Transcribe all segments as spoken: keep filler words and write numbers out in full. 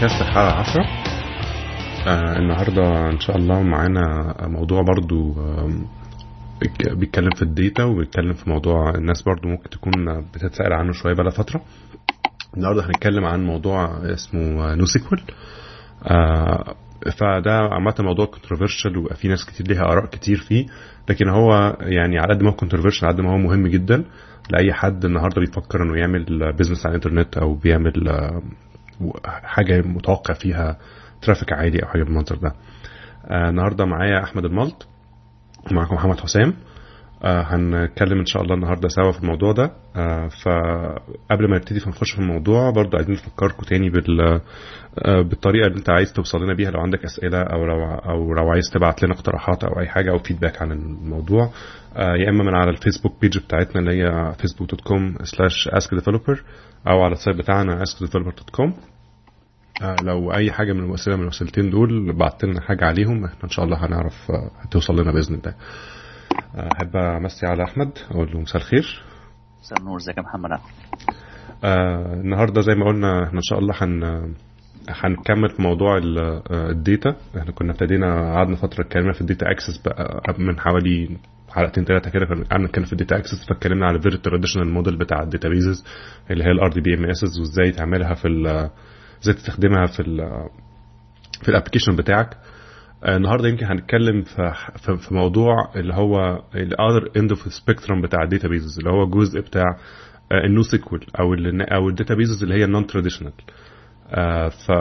بودكاست الحلقة عشرة. آه النهاردة إن شاء الله معانا موضوع برضو آه بيتكلم في الديتا وبيتكلم في موضوع الناس برضو ممكن تكون بتتسأل عنه شوية بقى فترة. النهاردة هنتكلم عن موضوع اسمه نوسيكوال. آه فده عامة موضوع كونتروفيرشال وفي ناس كتير ليها آراء كتير فيه، لكن هو يعني على قد ما هو كونتروفيرشال على قد ما هو مهم جدا لأي حد النهاردة بيفكر إنه يعمل بيزنس على الإنترنت أو بيعمل آه حاجة متوقع فيها ترافيك عالي أو حاجة بالمنظر ده. آه النهاردة معايا أحمد الملط ومعكم محمد حسام. آه هنتكلم إن شاء الله النهاردة سوا في الموضوع ده. آه فقبل ما نبتدي فنخش في الموضوع برضو عايزين نفكركم تاني بال آه بالطريقة اللي انت عايز توصل لنا بيها لو عندك أسئلة أو لو, أو لو عايز تبعت لنا اقتراحات أو أي حاجة أو فيدباك عن الموضوع. آه يا إما من على الفيسبوك بيج بتاعتنا اللي هي فيسبوك دوت كوم سلاش اسك ديفلوبر أو على السايت بتاعنا اسك ديفلوبر دوت كوم. آه لو اي حاجه من الوسائل من الوسيلتين دول بعت لنا حاجه عليهم احنا ان شاء الله هنعرف آه هتوصل لنا باذن الله. احب آه امسي على احمد اقول له مساء الخير. مساء النور، ازيك يا محمد؟ آه النهارده زي ما قلنا احنا ان شاء الله هن هنكمل في موضوع الداتا. احنا كنا ابتدينا قعدنا فتره اتكلمنا في الداتا اكسس بقى من حوالي حلقتين ثلاثه كده، كنا قعدنا نتكلم في الداتا اكسس فاتكلمنا على الفيري تراديشنال موديل بتاع الداتابيزز اللي هي الار دي بي ام اس وازاي تعملها في ازاي تستخدمها في ال في الابلكيشن بتاعك. النهارده يمكن هنتكلم في في موضوع اللي هو الاذر اند اوف سبيكترم بتاع الداتابيزز اللي هو الجزء بتاع النوسيكوال او ال او الداتابيزز اللي هي النون تراديشنال. ف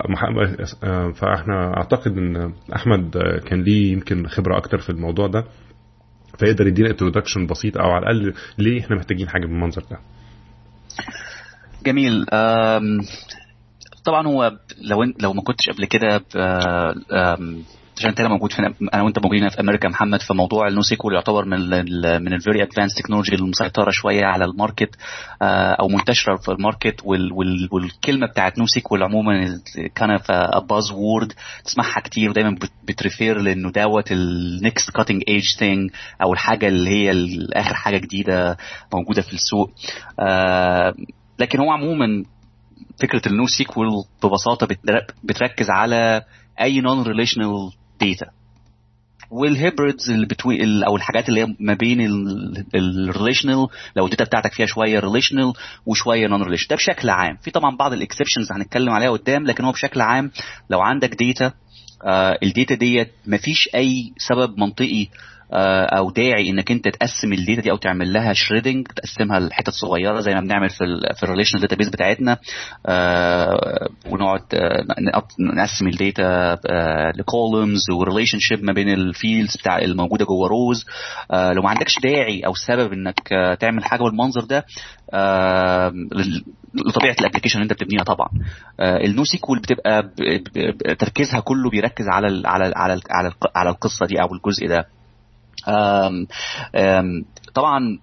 فاحنا اعتقد ان احمد كان ليه يمكن خبره اكتر في الموضوع ده فيقدر يدينا انترودكشن بسيط او على الاقل ليه احنا محتاجين حاجه بالمنظر ده. جميل. طبعا هو لو لو ما كنتش قبل كده عشان انت موجود في انا وانت موجودين في امريكا محمد، في موضوع النوسيكوال يعتبر من ال من الفيري ادفانس تكنولوجي المسيطره شويه على الماركت او منتشره في الماركت، والكلمه بتاعت نوسيكوال عموما كان في باز وورد تسمعها كتير ودايما بتريفير لانه دوت النكست كاتنج ايج ثينج او الحاجه اللي هي اخر حاجه جديده موجوده في السوق. لكن هو عموما فكره النوسيكوال ببساطه بتركز على اي نون ريليشنال داتا والهيبريدز اللي بتوين او الحاجات اللي هي ما بين الريليشنال، لو الداتا بتاعتك فيها شويه ريليشنال وشويه نون ريليشنال. ده بشكل عام، في طبعا بعض الاكسبشنز هنتكلم عليها قدام، لكن هو بشكل عام لو عندك داتا آه الداتا ديت مفيش اي سبب منطقي او داعي انك انت تقسم الداتا دي او تعمل لها شريدنج، تقسمها لحتت صغيره زي ما بنعمل في ال في الريليشنال داتابيز بتاعتنا، آه ونقعد نقسم الداتا آه لكولومز وريليشن شيب ما بين الفيلدز بتاع الموجوده جوه روز. آه لو ما عندكش داعي او سبب انك آه تعمل حاجه بالمنظر ده آه لطبيعه الابلكيشن اللي انت بتبنيها طبعا. آه النوسيكوال بتبقى تركيزها كله بيركز على ال على ال على ال على, ال على القصه دي او الجزء ده. أم أم طبعا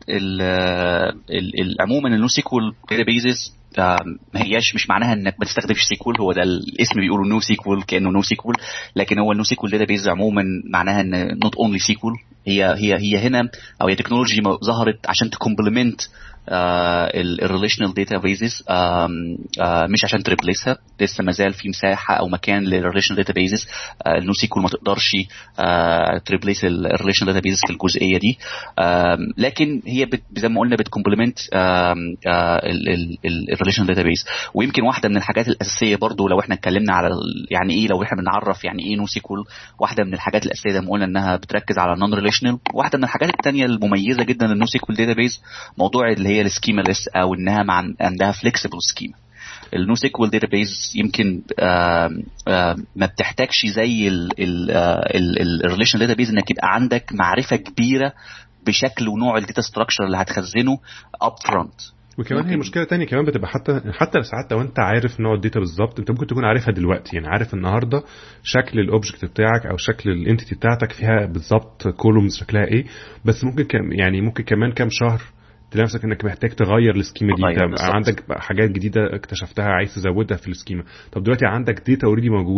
عموما النوسيكوال داتابيزز ما هياش مش معناها انك ما تستخدمش سيكوال، هو ده الاسم بيقولوا نو سيكوال كانه نو سيكوال، لكن هو النو سيكوال داتابيز عموما معناها ان نوت اونلي سيكوال، هي هي هي هنا او هي تكنولوجي ظهرت عشان تكومبلمنت الريليشنال داتابيزز مش عشان تريبليسها. لسه ما زال في مساحه او مكان للريليشنال داتابيزز. النو سيكوال ما تقدرش تريبليس الريليشنال داتابيزز في الجزئيه دي، لكن هي زي ما قلنا بتكومبلمنت الريليشنال داتابيز. ويمكن واحده من الحاجات الاساسيه برضو لو احنا اتكلمنا على يعني ايه، لو احنا بنعرف يعني ايه نو سيكوال، واحده من الحاجات الاساسيه زي ما قلنا انها بتركز على النون ريليشنال. واحده من الحاجات الثانيه المميزه جدا للنو سيكوال داتابيز موضوع اللي هي السكيما ليس او انها مع عندها فليكسيبل سكيما. النو سيكوال داتابيز يمكن آآ آآ ما بتحتاجش زي الريليشنال داتابيز انك يبقى عندك معرفه كبيره بشكل ونوع الداتا ستراكشر اللي هتخزنه اب فرونت. وكمان هي مشكله تانية كمان بتبقى حتى حتى ساعات لو انت عارف نوع الداتا بالظبط انت ممكن تكون عارفها دلوقتي، يعني عارف النهارده شكل الاوبجكت بتاعك او شكل الانتيتي بتاعتك فيها بالظبط كولومز شكلها ايه، بس ممكن كم يعني ممكن كمان كام شهر تلاقي نفسك انك محتاج تغير السكيما دي، عندك حاجات جديده اكتشفتها عايز تزودها في السكيما. طب دلوقتي عندك داتا اوريدي موجوده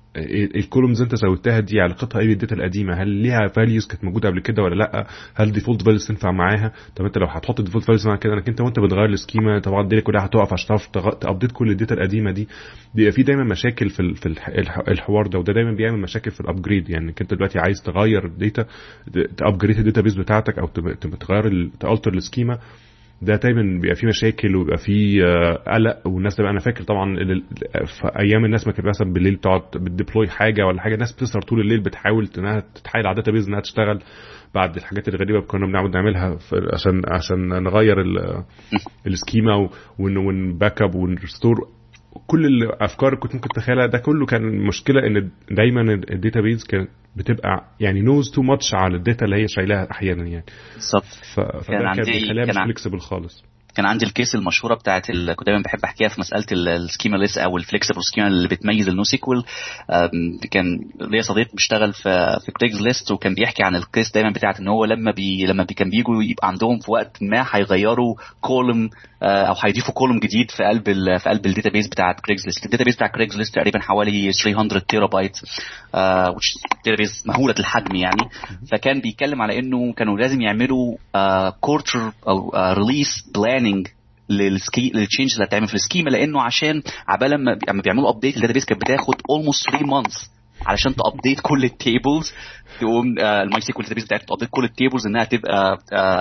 الكولومز انت زودتها دي علاقتها ايه بالداتا القديمه؟ هل ليها فاليوز كانت موجوده قبل كده ولا لا؟ هل ديفولت فاليوز تنفع معاها؟ طب انت لو هتحط ديفولت فاليوز مع كده انك انت وانت بتغير السكيما طبعا الدنيا كلها هتقف عشان تعرف تابديت كل الداتا القديمه دي. بيبقى في دايما مشاكل في في الحوار ده، وده دايما بيعمل مشاكل في الابجريد. يعني انت دلوقتي عايز تغير الداتا، تابجريد الداتا بيز بتاعتك او تغير تالتر السكيما، ده دايما بيبقى فيه مشاكل وبيبقى فيه قلق. والناس تبقى انا فاكر طبعا في ايام الناس ما كانت مثلا بالليل بتقعد بتديبلوي حاجه ولا حاجه، الناس بتسهر طول الليل بتحاول انها تتحايل على الداتا بيز انها تشتغل بعد الحاجات الغريبه كنا بنعمل نعملها عشان عشان نغير السكيما ونباك اب ونرستور كل الافكار كنت ممكن تتخيلها. ده كله كان مشكله ان دايما الداتا بيز كانت بتبقى يعني نوز تو ماتش على الداتا اللي هي شايلها احيانا يعني بالظبط. فده كان بيخليها مش فليكسبل خالص. كان عندي الكيس المشهوره بتاعت ال... كنت دايما بحب احكيها في مساله السكيما ليس او الفليكسبل سكيما اللي بتميز النو سيكوال. كان ليا صديق بيشتغل في في كريجز ليست وكان بيحكي عن الكيس دايما بتاعت ان هو لما بي لما بي كان بيجوا يبقى عندهم في وقت ما هيغيروا كولوم او هيضيفوا كولوم جديد في قلب ال... في قلب الداتابيس بتاعت كريجز ليست. الداتابيس بتاع كريجز ليست تقريبا حوالي ثلاثمية تيرا بايت which داتابيس مهوله الحجم يعني. فكان بيتكلم على انه كانوا لازم يعملوا كورتر او ريليس بلاننج للسكي للتشينج اللي هتعمل في السكيما، لانه عشان عبال لما لما بيعملوا ابديت الداتابيس كانت بتاخد almost three months علشان تابديت كل التيبلز، تقوم الماي سيكوال داتابيس بتاعتك تابديت كل التيبلز انها تبقى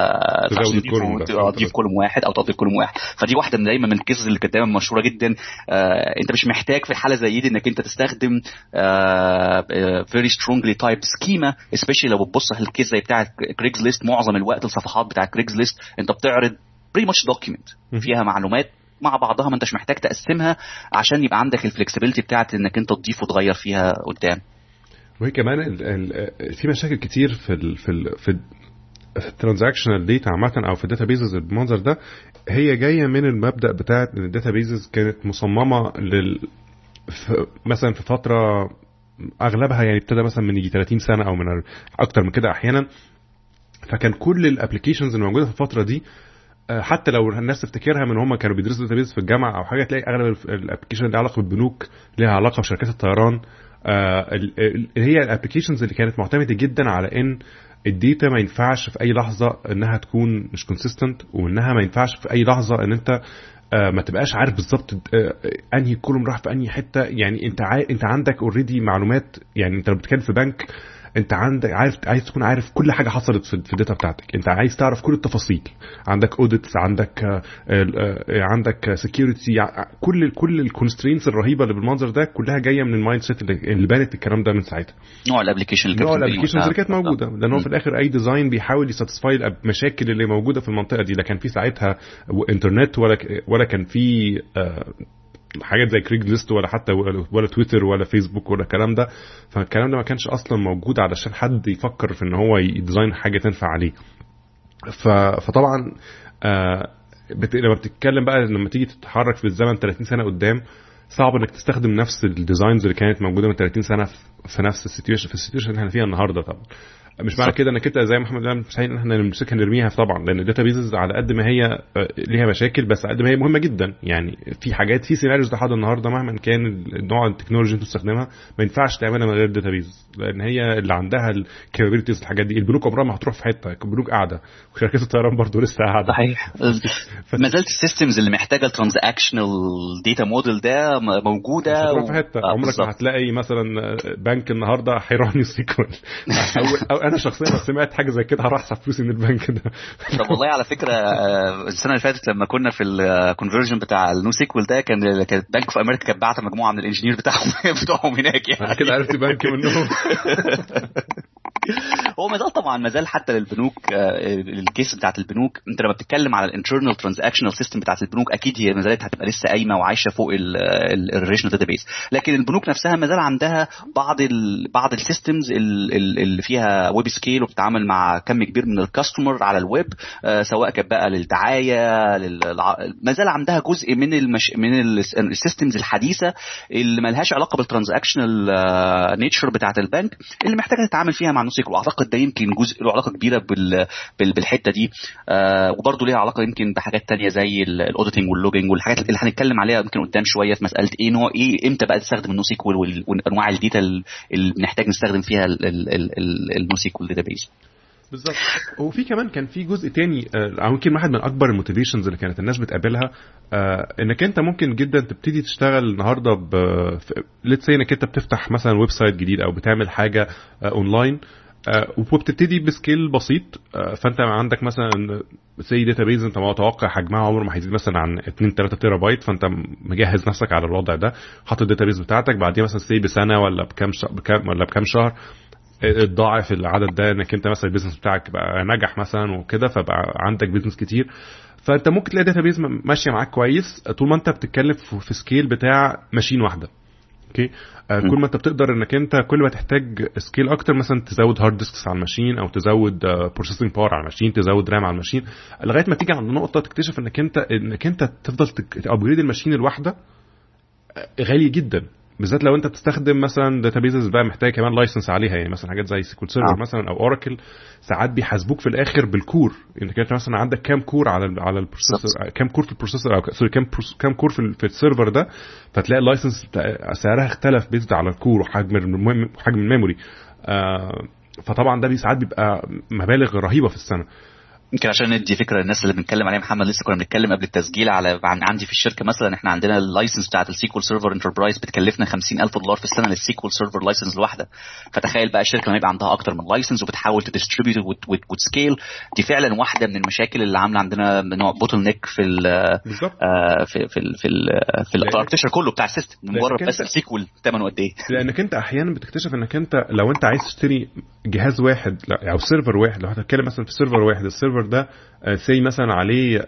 تضيف كولوم واحد او تضيف كولوم واحد. فدي واحده من دايما من الكيسز اللي كانت دايما مشهوره جدا. آه انت مش محتاج في الحاله زي دي انك انت تستخدم فيري سترونجلي تايب سكيما، سبيشالي لو بتبص على الكيس زي بتاع كريجز ليست. معظم الوقت الصفحات بتاع كريجز ليست انت بتعرض pretty much document فيها معلومات مع بعضها، ما انتش محتاج تقسمها عشان يبقى عندك الفلكسبيليتي بتاعت انك انت تضيف وتغير فيها قدام. وهي كمان ال ال في مشاكل كتير في ال في ال في الترانزاكشنال داتا عامه او في الداتابيزز بالمنظر ده. هي جايه من المبدا بتاع ان الداتابيزز كانت مصممه لل مثلا في فتره اغلبها يعني ابتدى مثلا من يجي ثلاثين سنه او من اكتر من كده احيانا. فكان كل الابلكيشنز الموجوده في الفتره دي حتى لو الناس تفتكرها من هم كانوا بيدرسوا داتابيز في الجامعه او حاجه، تلاقي اغلب الابلكيشن اللي علاقه بالبنوك ليها علاقه بشركات الطيران. اللي هي الابلكيشنز اللي كانت معتمده جدا على ان الداتا ما ينفعش في اي لحظه انها تكون مش كونسيستنت، وانها ما ينفعش في اي لحظه ان انت ما تبقاش عارف بالظبط انهي كولوم راح في انهي حته. يعني انت عا... انت عندك اوريدي معلومات. يعني انت لو بتتكلم في بنك انت عندك عارف عايز تكون عارف كل حاجه حصلت في الداتا بتاعتك، انت عايز تعرف كل التفاصيل. عندك اوديتس، عندك عندك سكيورتي، كل كل الكونسترينتس الرهيبه اللي بالمنظر ده كلها جايه من المايند سيت اللي بانت الكلام ده من ساعتها. نوع الابلكيشن اللي نوع الابلكيشنز اللي كانت موجوده، لان هو في الاخر اي ديزاين بيحاول يساتسفاي المشاكل اللي موجوده في المنطقه دي. لا كان في ساعتها انترنت ولا ولا كان في حاجات زي كريج ليست ولا حتى ولا تويتر ولا فيسبوك ولا الكلام ده. فالكلام ده ما كانش اصلا موجود علشان حد يفكر في ان هو يديزاين حاجه تنفع عليه. فطبعا آه بت... لما بتتكلم بقى لما تيجي تتحرك في الزمن ثلاثين سنه قدام، صعب انك تستخدم نفس الديزاينز اللي كانت موجوده من ثلاثين سنه في نفس السيتويشن في السيتويشن اللي احنا فيها النهارده. طبعا مش معنى كده انك انت زي ما محمد قال مستحيل ان احنا نمسكها نرميها طبعا، لان الداتابيزز على قد ما هي ليها مشاكل بس على قد ما هي مهمه جدا. يعني في حاجات في سيناريوز لحد النهارده مهما كان النوع التكنولوجي اللي تستخدمها ما ينفعش تعملها من غير الداتابيز، لان هي اللي عندها الكابابيلتيز. الحاجات دي البنوك عمرها ما هتروح في حته، البنوك قاعده وشركات الطيران برضو لسه قاعده. صحيح. ما زالت السيستمز اللي محتاجه الترانزاكشنال داتا موديل ده موجوده هتروح في حته. عمرك ما هتلاقي مثلا بنك النهارده حيراني سيكوال او انا شخصيا سمعت حاجه زي كده هروح احسب فلوسي من البنك ده. طب والله على فكره السنه اللي فاتت لما كنا في الكونفرجن بتاع النو سيكوال ده كان كانت بنك في امريكا كانت بعت مجموعه من الانجينير بتاعهم بتوعهم هناك. يعني انا كده عرفت بنك منهم. هو ما زال طبعا ما زال حتى للبنوك الكيس بتاعت البنوك. انت لما بتتكلم على الانترنال ترانزاكشنال سيستم بتاعت البنوك اكيد هي ما زالت هتبقى لسه قايمه وعايشه فوق الريليشنال داتابيس، لكن البنوك نفسها ما زال عندها بعض ال بعض السيستمز اللي فيها ويب سكيل وبتتعامل مع كم كبير من الكاستمر على الويب، سواء كان بقى للدعايه للع... ما زال عندها جزء من المش... من السيستمز الحديثه اللي ما لهاش علاقه بالترانزاكشنال نيتشر بتاعت البنك اللي محتاجه تتعامل فيها مع نوسيكوال. واعتقد ده يمكن جزء له علاقه كبيره بال بالحته دي. آه وبرده ليها علاقه يمكن بحاجات تانية زي الاوديتنج واللوجينج والحاجات اللي هنتكلم عليها يمكن قدام شويه في مساله ايه نوع ايه امتى بقى تستخدم النو سيكوال وانواع الداتا اللي بنحتاج نستخدم فيها النو سيكوال داتابيز. بالظبط. وفي كمان كان في جزء تاني او يمكن واحد من اكبر الموتيفيشنز اللي كانت الناس بتقابلها، آه انك انت ممكن جدا تبتدي تشتغل النهارده ب ليتس سي انك انت بتفتح مثلا ويب سايت جديد او بتعمل حاجه آه اونلاين، آه وبتبتدي بسكيل بسيط. آه فانت عندك مثلا سي داتابيز انت متوقع حجمها عمره ما هيزيد مثلا عن اتنين تلاتة تيرا بايت، فانت مجهز نفسك على الوضع ده، حاطط الداتابيز بتاعتك، بعدين مثلا سي بسنه ولا بكام بكام ولا بكام شهر الضاعف العدد ده، انك انت مثلا البيزنس بتاعك بقى نجح مثلا وكده، فبقى عندك بيزنس كتير، فانت ممكن تلاقي داتابيز ماشيه معاك كويس طول ما انت بتتكلم في سكيل بتاع ماشين واحده. اوكي. آه كل ما انت بتقدر انك انت كل ما تحتاج سكيل اكتر، مثلا تزود هارد ديسكس على الماشين او تزود بروسيسنج باور على الماشين، تزود رام على الماشين، لغايه ما تيجي عند نقطه تكتشف انك انت انك انت تفضل تابجريد الماشين الواحده غالي جدا، بالذات لو انت بتستخدم مثلا داتابيزز بقى محتاج كمان لايسنس عليها، يعني مثلا حاجات زي سيكول سيرفر آه. مثلا او اوراكل، ساعات بيحاسبوك في الاخر بالكور، انك انت مثلا عندك كام كور على ال على البروسيسور، كام كور في البروسيسور او سوري كام كام كور في, في السيرفر ده، فتلاقي اللايسنس سعرها اختلف بيزد على الكور وحجم المهم حجم الميموري. آه فطبعا ده ساعات بيبقى مبالغ رهيبه في السنه. يمكن عشان ندي فكره الناس اللي بنتكلم عليها محمد، لسه كنا بنتكلم قبل التسجيل على عن عندي في الشركه مثلا احنا عندنا اللايسنس بتاعه السيكوال سيرفر انتربرايز بتكلفنا خمسين ألف دولار في السنه للسيكوال سيرفر لايسنس الواحده. فتخيل بقى الشركه لما يبقى عندها اكتر من لايسنس وبتحاول تديستريبيوت وتسكيل، دي فعلا واحده من المشاكل اللي عامله عندنا نوع بوتل نيك في ال آه في في ال في ال في الاركتشر كله بتاع السيستم، مجرد بس السيكوال ثمنه قد ايه. لانك انت احيانا بتكتشف انك انت لو انت عايز تشتري جهاز واحد او سيرفر واحد، لو هتتكلم مثلا في سيرفر واحد، السيرفر ده سي مثلا عليه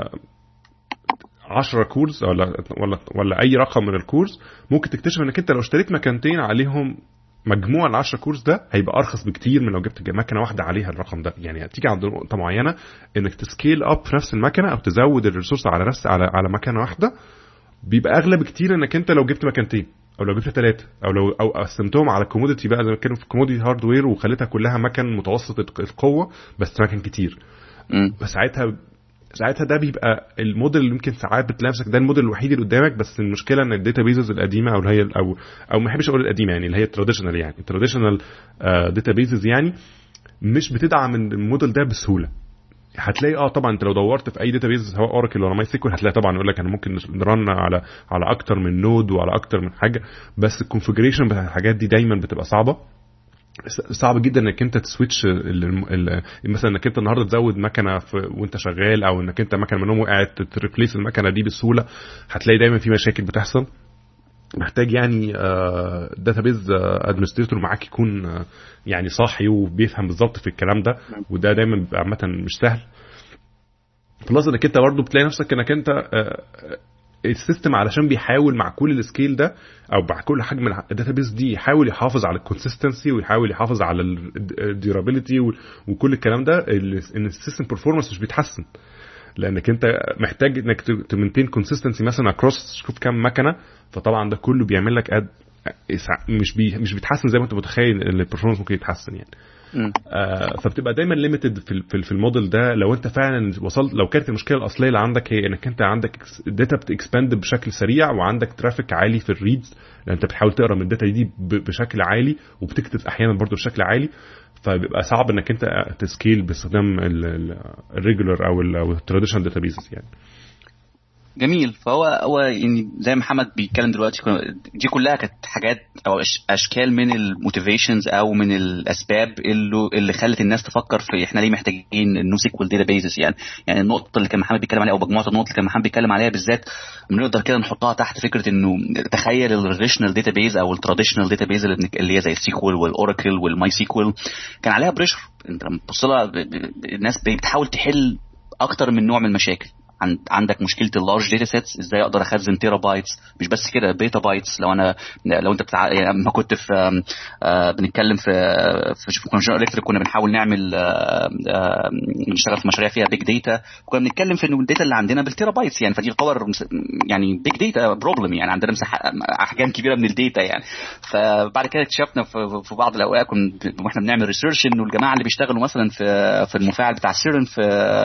عشرة كورز ولا ولا ولا اي رقم من الكورز، ممكن تكتشف انك انت لو اشتريت مكانتين عليهم مجموع العشرة كورز ده هيبقى ارخص بكتير من لو جبت مكنه واحده عليها الرقم ده. يعني هتيجي عند نقطه معينه انك تسكيل اب في نفس المكنه او تزود الريسورس على نفس على على مكنه واحده، بيبقى اغلى بكتير انك انت لو جبت مكانتين او لو جبت ثلاثه او لو او قسمتهم على كوموديتي بقى زي ما كانوا في كوموديتي هاردوير وخليتها كلها مكن متوسط القوه بس مكن كتير. بس ساعتها ساعتها ده بيبقى الموديل اللي يمكن ساعات بتلاقي نفسك ده الموديل الوحيد اللي قدامك. بس المشكله ان الداتابيزز القديمه او اللي هي او او ما بحبش اقول القديمه، يعني اللي هي التراديشنال، يعني التراديشنال داتابيزز يعني مش بتدعم الموديل ده بسهوله. هتلاقي اه طبعا انت لو دورت في اي داتابيز سواء اوراكل ولا ماي سيكوال هتلاقي طبعا يقول لك انا ممكن نرن على على اكتر من نود وعلى اكتر من حاجه، بس الكونفيجريشن بتاع الحاجات دي دايما بتبقى صعبه. صعب جدا انك انت تسويتش مثلا انك انت النهارده تزود مكنه وانت شغال، او انك انت مكنه منهم وقعت تريبليس المكنه دي بسهوله. هتلاقي دايما في مشاكل بتحصل، محتاج يعني داتابيز ادمنستريتور معاك يكون يعني صاحي وبيفهم بالظبط في الكلام ده، وده دايما بيبقى عامه مش سهل. خلاص انك انت برضه بتلاقي نفسك انك انت السيستم علشان بيحاول مع كل السكيل ده او مع كل حجم الداتابيز دي يحاول يحافظ على الكونسيستنسي ويحاول يحافظ على الديورابيلتي وكل الكلام ده، ان السيستم برفورمانس مش بيتحسن، لانك انت محتاج انك تمنتين كونسيستنسي مثلا اكروس شوف كام مكنه، فطبعا ده كله بيعمل لك اد مش بي مش بيتحسن زي ما انت متخيل ان البرفورمانس ممكن يتحسن يعني. آه فبتبقى دايما ليميتد في في الموديل ده. لو انت فعلا وصلت، لو كانت المشكله الاصليه اللي عندك هي انك انت عندك الداتا بتكسباند بشكل سريع وعندك ترافيك عالي في الريدز، لان انت بتحاول تقرا من الداتا دي بشكل عالي وبتكتب احيانا برضو بشكل عالي، فبيبقى صعب انك انت تسكيل باستخدام الريجولر او التراديشنال داتابيسز يعني. جميل. فهو هو يعني زي محمد بيتكلم دلوقتي دي كلها كانت حاجات او اشكال من الموتيفيشنز او من الاسباب اللي اللي خلت الناس تفكر في احنا ليه محتاجين النو سيكوال داتابيسز. يعني يعني النقطه اللي كان محمد بيتكلم عليها او مجموعه النقط اللي كان محمد بيتكلم عليها بالذات بنقدر كده نحطها تحت فكره انه تخيل الريليشنال داتابيز او التراديشنال داتابيز اللي هي زي السيكوال والاوراكل والماي سيكوال كان عليها بريشر. انت لما تبص لها الناس بتحاول تحل اكتر من نوع من المشاكل، عند عندك مشكله اللارج داتا سيتس، ازاي اقدر اخزن تيرا بايتس، مش بس كده بيتا بايتس. لو انا لو انت بتاع يعني ما كنت في آه بنتكلم في في كونجنرال الكتريك كنا بنحاول نعمل آه آه نشتغل في مشاريع فيها بيج داتا، كنا بنتكلم في انه الداتا اللي عندنا بالتيرا بايتس يعني، فدي الباور يعني بيج داتا بروبلم يعني، عندنا مساحه احجام كبيره من الداتا يعني. فبعد كده اكتشفنا في بعض الاوقات واحنا بنعمل ريسيرش انه الجماعه اللي بيشتغلوا مثلا في في المفاعل بتاع سيرن في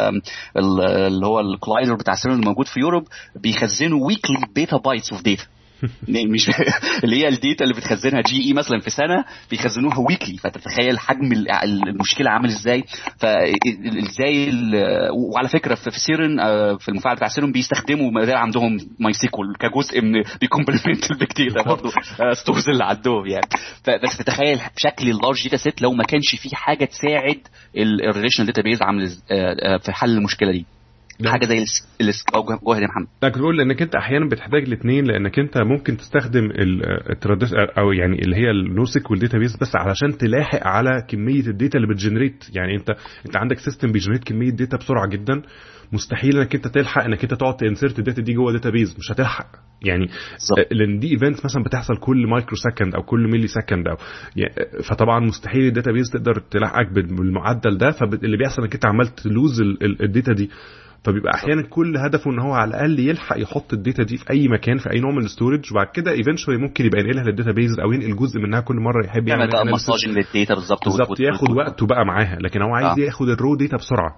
اللي هو الكلايدر بتاع سيرن الموجود في يوروب بيخزنوا ويكلي بيتا بايتس اوف داتا مش اللي هي الداتا اللي بتخزنها جي اي مثلا في سنه بيخزنوها ويكلي. فتتخيل حجم المشكله عامل ازاي. فازاي وعلى فكره في سيرن في المفاعل بتاع سيرن بيستخدموا ما زال عندهم ماي سيكول كجزء من بيكومبلمنت البيج داتا برضه ستورز اللي عندهم يعني. فبس تتخيل شكل اللارج داتا سيت لو ما كانش فيه حاجه تساعد الريليشنال داتا بيز عامل في حل المشكله دي، حاجه زي الاسك او جوهر يا محمد. لكن بقول انك انت احيانا بتحتاج الاثنين، لانك انت ممكن تستخدم التراديش او يعني اللي هي النوسيك والداتابيس بس علشان تلاحق على كميه الداتا اللي بتجنريت. يعني انت انت عندك سيستم بيجنريت كميه داتا بسرعه جدا، مستحيل انك انت تلحق انك انت تقعد تنسرت الداتا دي جوه داتابيس، مش هتلحق يعني صح. لان دي ايفنتس مثلا بتحصل كل مايكرو سكند او كل ملي سكند او يعني، فطبعا مستحيل الداتابيس تقدر تلحقك بالمعدل ده. فاللي بيحصل انك انت عمال تلوز الداتا دي، فبيبقى احيانا كل هدفه ان هو على الاقل يلحق يحط الداتا دي في اي مكان في اي نوع من الستورج، وبعد كده ايفنشولي ممكن يبقى ينقلها للداتابيز او ينقل جزء منها كل مره يحب يعمل بقى مساجنج للداتا بالظبط بالظبط ياخد وقته بقى معاها. لكن هو عايز آه. ياخد الرو داتا بسرعه.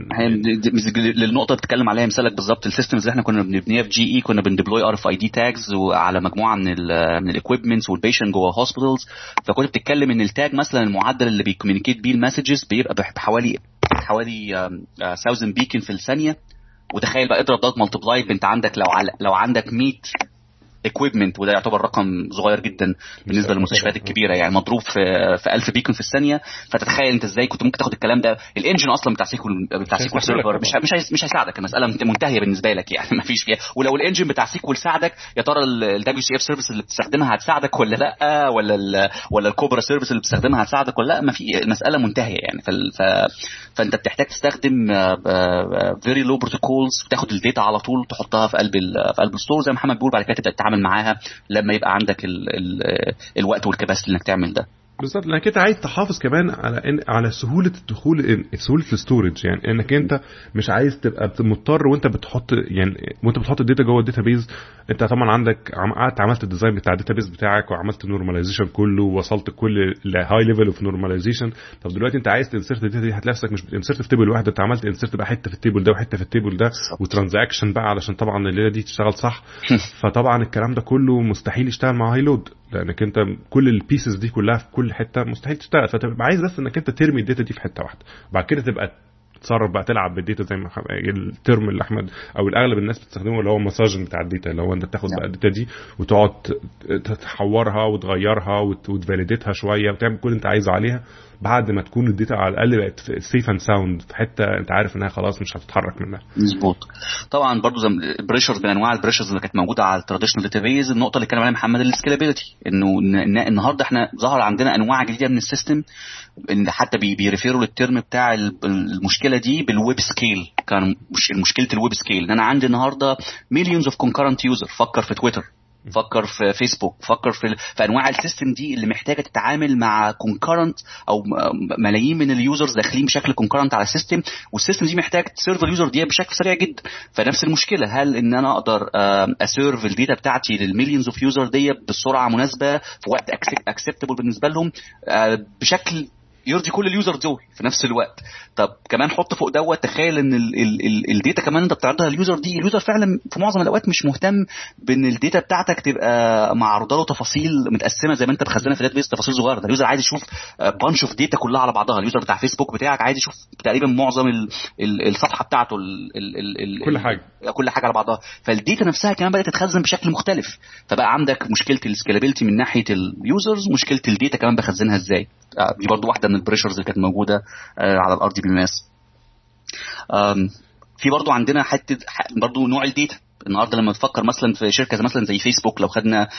للنقطه بتتكلم عليها مثالك بالظبط السيستمز اللي احنا كنا بنبنيها في جي اي، كنا بنديبلوي ار اف اي دي تاجز وعلى مجموعه من ال من الاكويبمنتس والبيشنت جوه هوسبيتالز. فكنت بتتكلم ان التاج مثلا المعدل اللي بيكوميونيكيت بيه المسجز بيبقى بحوالي حوالي ألف بيكن في الثانيه. وتخيل بقى اضرب ضغط مالتيبلاي، انت عندك لو على لو عندك مية equipment، وده يعتبر رقم صغير جدا بالنسبه للمستشفيات الكبيره يعني، مضروب في في ألف بيكون في الثانيه. فتتخيل انت ازاي كنت ممكن تاخد الكلام ده. الانجن اصلا بتاع سيكول بتاع سيكول سيرفر مش مش مش هيساعدك، المساله منتهيه بالنسبه لك يعني ما فيش فيها. ولو الانجن بتاع سيكول ساعدك، يا ترى الدبليو سي اف سيرفيس اللي بتستخدمها هتساعدك ولا لا، ولا ال ولا الكوبرا سيرفيس اللي بتستخدمها هتساعدك ولا لا. ما في، المساله منتهيه يعني. ف فانت بتحتاج تستخدم فيري لو بروتوكولز، بتاخد الداتا على طول تحطها في قلب في قلب الستور زي ما محمد بيقول، بعد كده تبدا تتعامل معاها لما يبقى عندك ال ال الوقت والكباسيتي انك تعمل ده بالظبط. لانك انت عايز تحافظ كمان على إن على سهوله الدخول، سهوله الستورج، يعني انك انت مش عايز تبقى مضطر وانت بتحط يعني وانت بتحط الداتا جوه الداتابيز. انت طبعا عندك قعدت عملت الديزاين بتاع الداتابيز بتاعك وعملت نورماليزيشن كله ووصلت كل الهاي ليفل اوف نورماليزيشن. طب دلوقتي انت عايز تنسرت الداتا دي، هتلاقي نفسك مش بتنسرت في تيبل واحد، انت عملت انسرت بقى حته في التيبل ده وحته في التيبل ده وترانزاكشن بقى علشان طبعا الليله دي تشتغل صح. فطبعا الكلام ده كله مستحيل يشتغل مع هاي لود، لانك انت كل البيسز دي كلها في كل حته مستحيل تشتغل. فتبقى عايز بس انك انت ترمي الداتا دي في حته واحده، بعد كده تبقى تصرف بقى تلعب بالداتا زي ما الترم اللي احمد او الاغلب الناس بتستخدمه اللي هو مساجنج بتاع الداتا، اللي هو انت تاخد بقى الداتا دي وتقعد تحورها وتغيرها وتفاليديتها شويه وتعمل كل اللي انت عايزه عليها بعد ما تكون الداتا على الاقل بقت سيف اند ساوند في حته انت عارف انها خلاص مش هتتحرك منها. مظبوط. طبعا برضو زي البريشرز، من انواع البريشرز اللي كانت موجوده على التراديشنال داتابيز، النقطه اللي كان عليها محمد السكيلابيلتي، انه النهارده احنا ظهر عندنا انواع جديده من السيستم، ان حتى بيريفيروا للترم بتاع المشكله دي بالويب سكيل. كان مش مشكله الويب سكيل ان انا عندي النهارده مليونز اوف كونكرنت يوزر. فكر في تويتر، فكر في فيسبوك، فكر في في انواع السيستم دي اللي محتاجه تتعامل مع كونكرنت او ملايين من اليوزرز داخلين بشكل كونكرنت على السيستم، والسيستم دي محتاج تسيرف اليوزر دي بشكل سريع جدا. فنفس المشكله، هل ان انا اقدر اسيرف الداتا بتاعتي للمليونز اوف يوزر دي بسرعه مناسبه في وقت اكسبتبل بالنسبه لهم بشكل يرضي كل اليوزر دول في نفس الوقت. طب كمان حط فوق دوت، تخيل ان الداتا كمان انت بتعرضها لليوزر دي، اليوزر فعلا في معظم الاوقات مش مهتم بان الداتا بتاعتك تبقى معروضه له تفاصيل متقسمه زي ما انت مخزنها في داتابيس تفاصيل صغيره. ده اليوزر عايز يشوف بانش اوف داتا كلها على بعضها. اليوزر بتاع فيسبوك بتاعك عايز يشوف تقريبا معظم ال ال الصفحه بتاعته ال ال ال كل حاجه كل حاجه على بعضها. فالداتا نفسها كمان بدات تتخزن بشكل مختلف. فبقى عندك مشكله السكيلابيلتي من ناحيه اليوزرز، مشكله الداتا كمان بخزنها ازاي. دي برضو واحده من البريشرز اللي كانت موجوده على الار دي بي ام اس. في برضو عندنا حته برضو نوع الداتا. النهارده لما تفكر مثلا في شركه مثلا زي فيسبوك، لو خدنا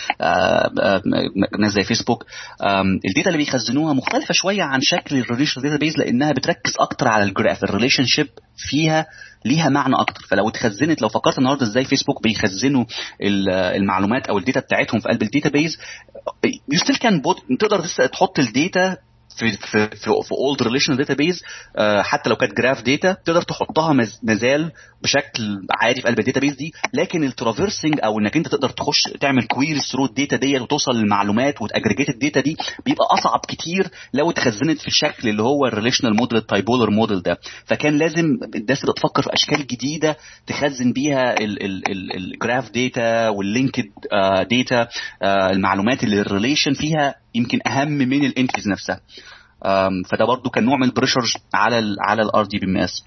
ناس زي فيسبوك، الداتا اللي بيخزنوها مختلفه شويه عن شكل الريليشنال داتابيز، لانها بتركز اكتر على الجراف، الريليشن شيب فيها ليها معنى اكتر. فلو اتخزنت، لو فكرت النهارده ازاي فيسبوك بيخزنوا المعلومات او الداتا بتاعتهم في قلب الداتابيز، يو ستيل كان تقدر تحط الداتا في في في في اولد ريليشنال داتابيز، حتى لو كانت جراف داتا تقدر تحطها مازال بشكل عادي في قلب الداتابيز دي. لكن الترافيرسنج او انك انت تقدر تخش تعمل كويريز ثرو الداتا دي وتوصل للمعلومات وتاجريجيت الداتا دي بيبقى اصعب كتير لو اتخزنت في الشكل اللي هو الريليشنال موديل التايبولر موديل ده. فكان لازم الناس تبقى تفكر في اشكال جديده تخزن بيها الجراف داتا واللينكد داتا، المعلومات اللي الريليشن فيها يمكن اهم من الانتريز نفسها. فده برضو كان نوع من البريشر على ال على الار دي بي ام اس.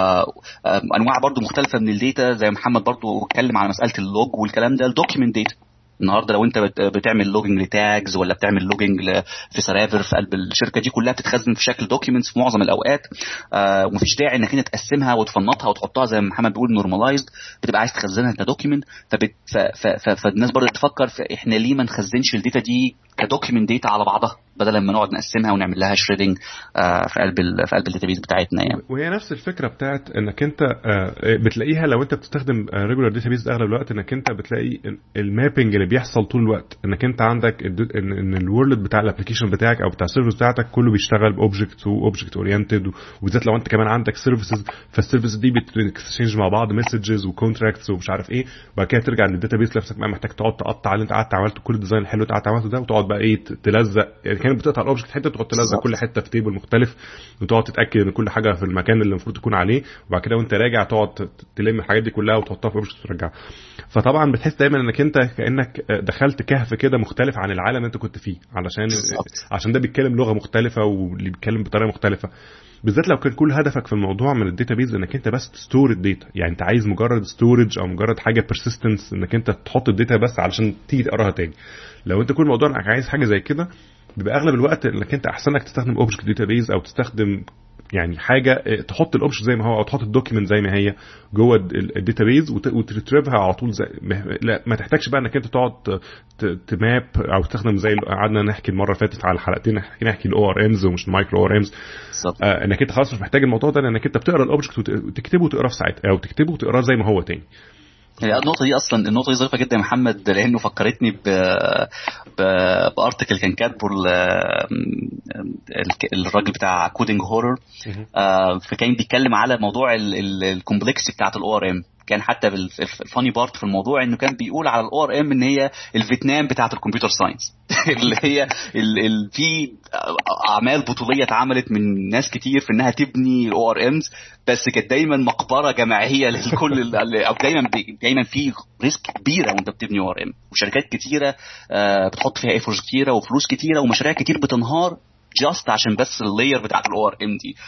انواع برضو مختلفه من الداتا، زي محمد برضو اتكلم على مساله اللوج والكلام ده. الدوكيمنت داتا النهارده لو انت بتعمل لوجينج لتاجز ولا بتعمل لوجينج في سيرفر في قلب الشركه دي، كلها بتتخزن في شكل دوكيومنتس في معظم الاوقات، آه ومفيش داعي انك انت تقسمها وتفنطها وتحطها زي ما محمد بيقول نورماليزد، بتبقى عايز تخزنها كدوكيومنت. فالناس برضه تفكر في احنا ليه ما نخزنش الداتا دي كدوكيومنت داتا على بعضها بدل ما نقعد نقسمها ونعمل لها شريدنج آه في قلب ال في قلب الداتابيز بتاعتنا يعني. وهي نفس الفكره بتاعت انك انت آه بتلاقيها لو انت بتستخدم ريجولار داتابيز اغلب الوقت، انك انت بتلاقي المابنج اللي بيحصل طول الوقت، انك انت عندك ان ان الورلد بتاع الابلكيشن بتاعك او بتاع السيرفيس بتاعتك كله بيشتغل باوبجكت واوبجكت اورينتد، وبالذات لو انت كمان عندك سيرفيسز، فالسيرفيس دي بتكسشينج مع بعض مسجز وكونتراكتس ومش عارف ايه، وبعد كده ترجع للداتابيز نفسك بقى محتاج تقعد تقطع اللي انت قعدت عملته كل الديزاين الحلو اللي قعدت عملته ده، وتقعد بقى ايه تلزق، يعني كانت بتقطع الاوبجكت حته تقعد تلزق كل حته في تيبل مختلف، وتقعد تتاكد ان كل حاجه في المكان اللي المفروض تكون عليه، وبعد كده وانت راجع تقعد تلم الحاجات دي كلها وتحطها في اوبجكت وترجعها. فطبعا بتحس دايما انك انت كانك دخلت كهف كده مختلف عن العالم اللي انت كنت فيه، علشان عشان ده بيتكلم لغه مختلفه واللي بيتكلم بطريقه مختلفه، بالذات لو كان كل هدفك في الموضوع من الداتابيز انك انت بس تستور الداتا، يعني انت عايز مجرد ستورج او مجرد حاجه بيرسيستنس انك انت تحط الداتا بس علشان تيجي تقراها تاني. لو انت كل موضوع انك عايز حاجه زي كده، بيبقى اغلب الوقت انك انت احسن لك تستخدم اوبجكت داتابيز او تستخدم يعني حاجه تحط الاوبجكت زي ما هو او تحط الدوكيمنت زي ما هي جوه الداتابيز وتريتريفها على طول زي لا ما تحتاجش بقى انك انت تقعد تماب او تستخدم زي قعدنا نحكي المره اللي فاتت على حلقتين نحكي الاو ار امز ومش المايكرو او ار امز، آه انك انت خلاص مش محتاج الموضوع ده، لانك انت بتقرا الاوبجكت وتكتبه وتقراه في ساعتها او تكتبه وتقراه زي ما هو تاني. هي النقطة دي أصلا النقطة دي ظريفة جدا يا محمد، لأنه فكرتني ب بارتكل كان كاتبه الراجل بتاع كودينج هورر، فكان بيتكلم على موضوع الكومبلكسيتي بتاعت الاو ار ام. كان حتى الفاني بارت في الموضوع انه كان بيقول على الاو ار ام ان هي الفيتنام بتاعه الكمبيوتر ساينس اللي هي ال ال في اعمال بطوليه اتعملت من ناس كتير في انها تبني الاو ار امز، بس كانت دايما مقبره جماعيه للكل، او دايما دايما في ريسك كبيره وانت بتبني او ار ام، وشركات كتيره بتحط فيها ايفورز كتيره وفلوس كتيره ومشاريع كتير بتنهار جاست عشان بس اللاير بتاعت الاو ار ام دي.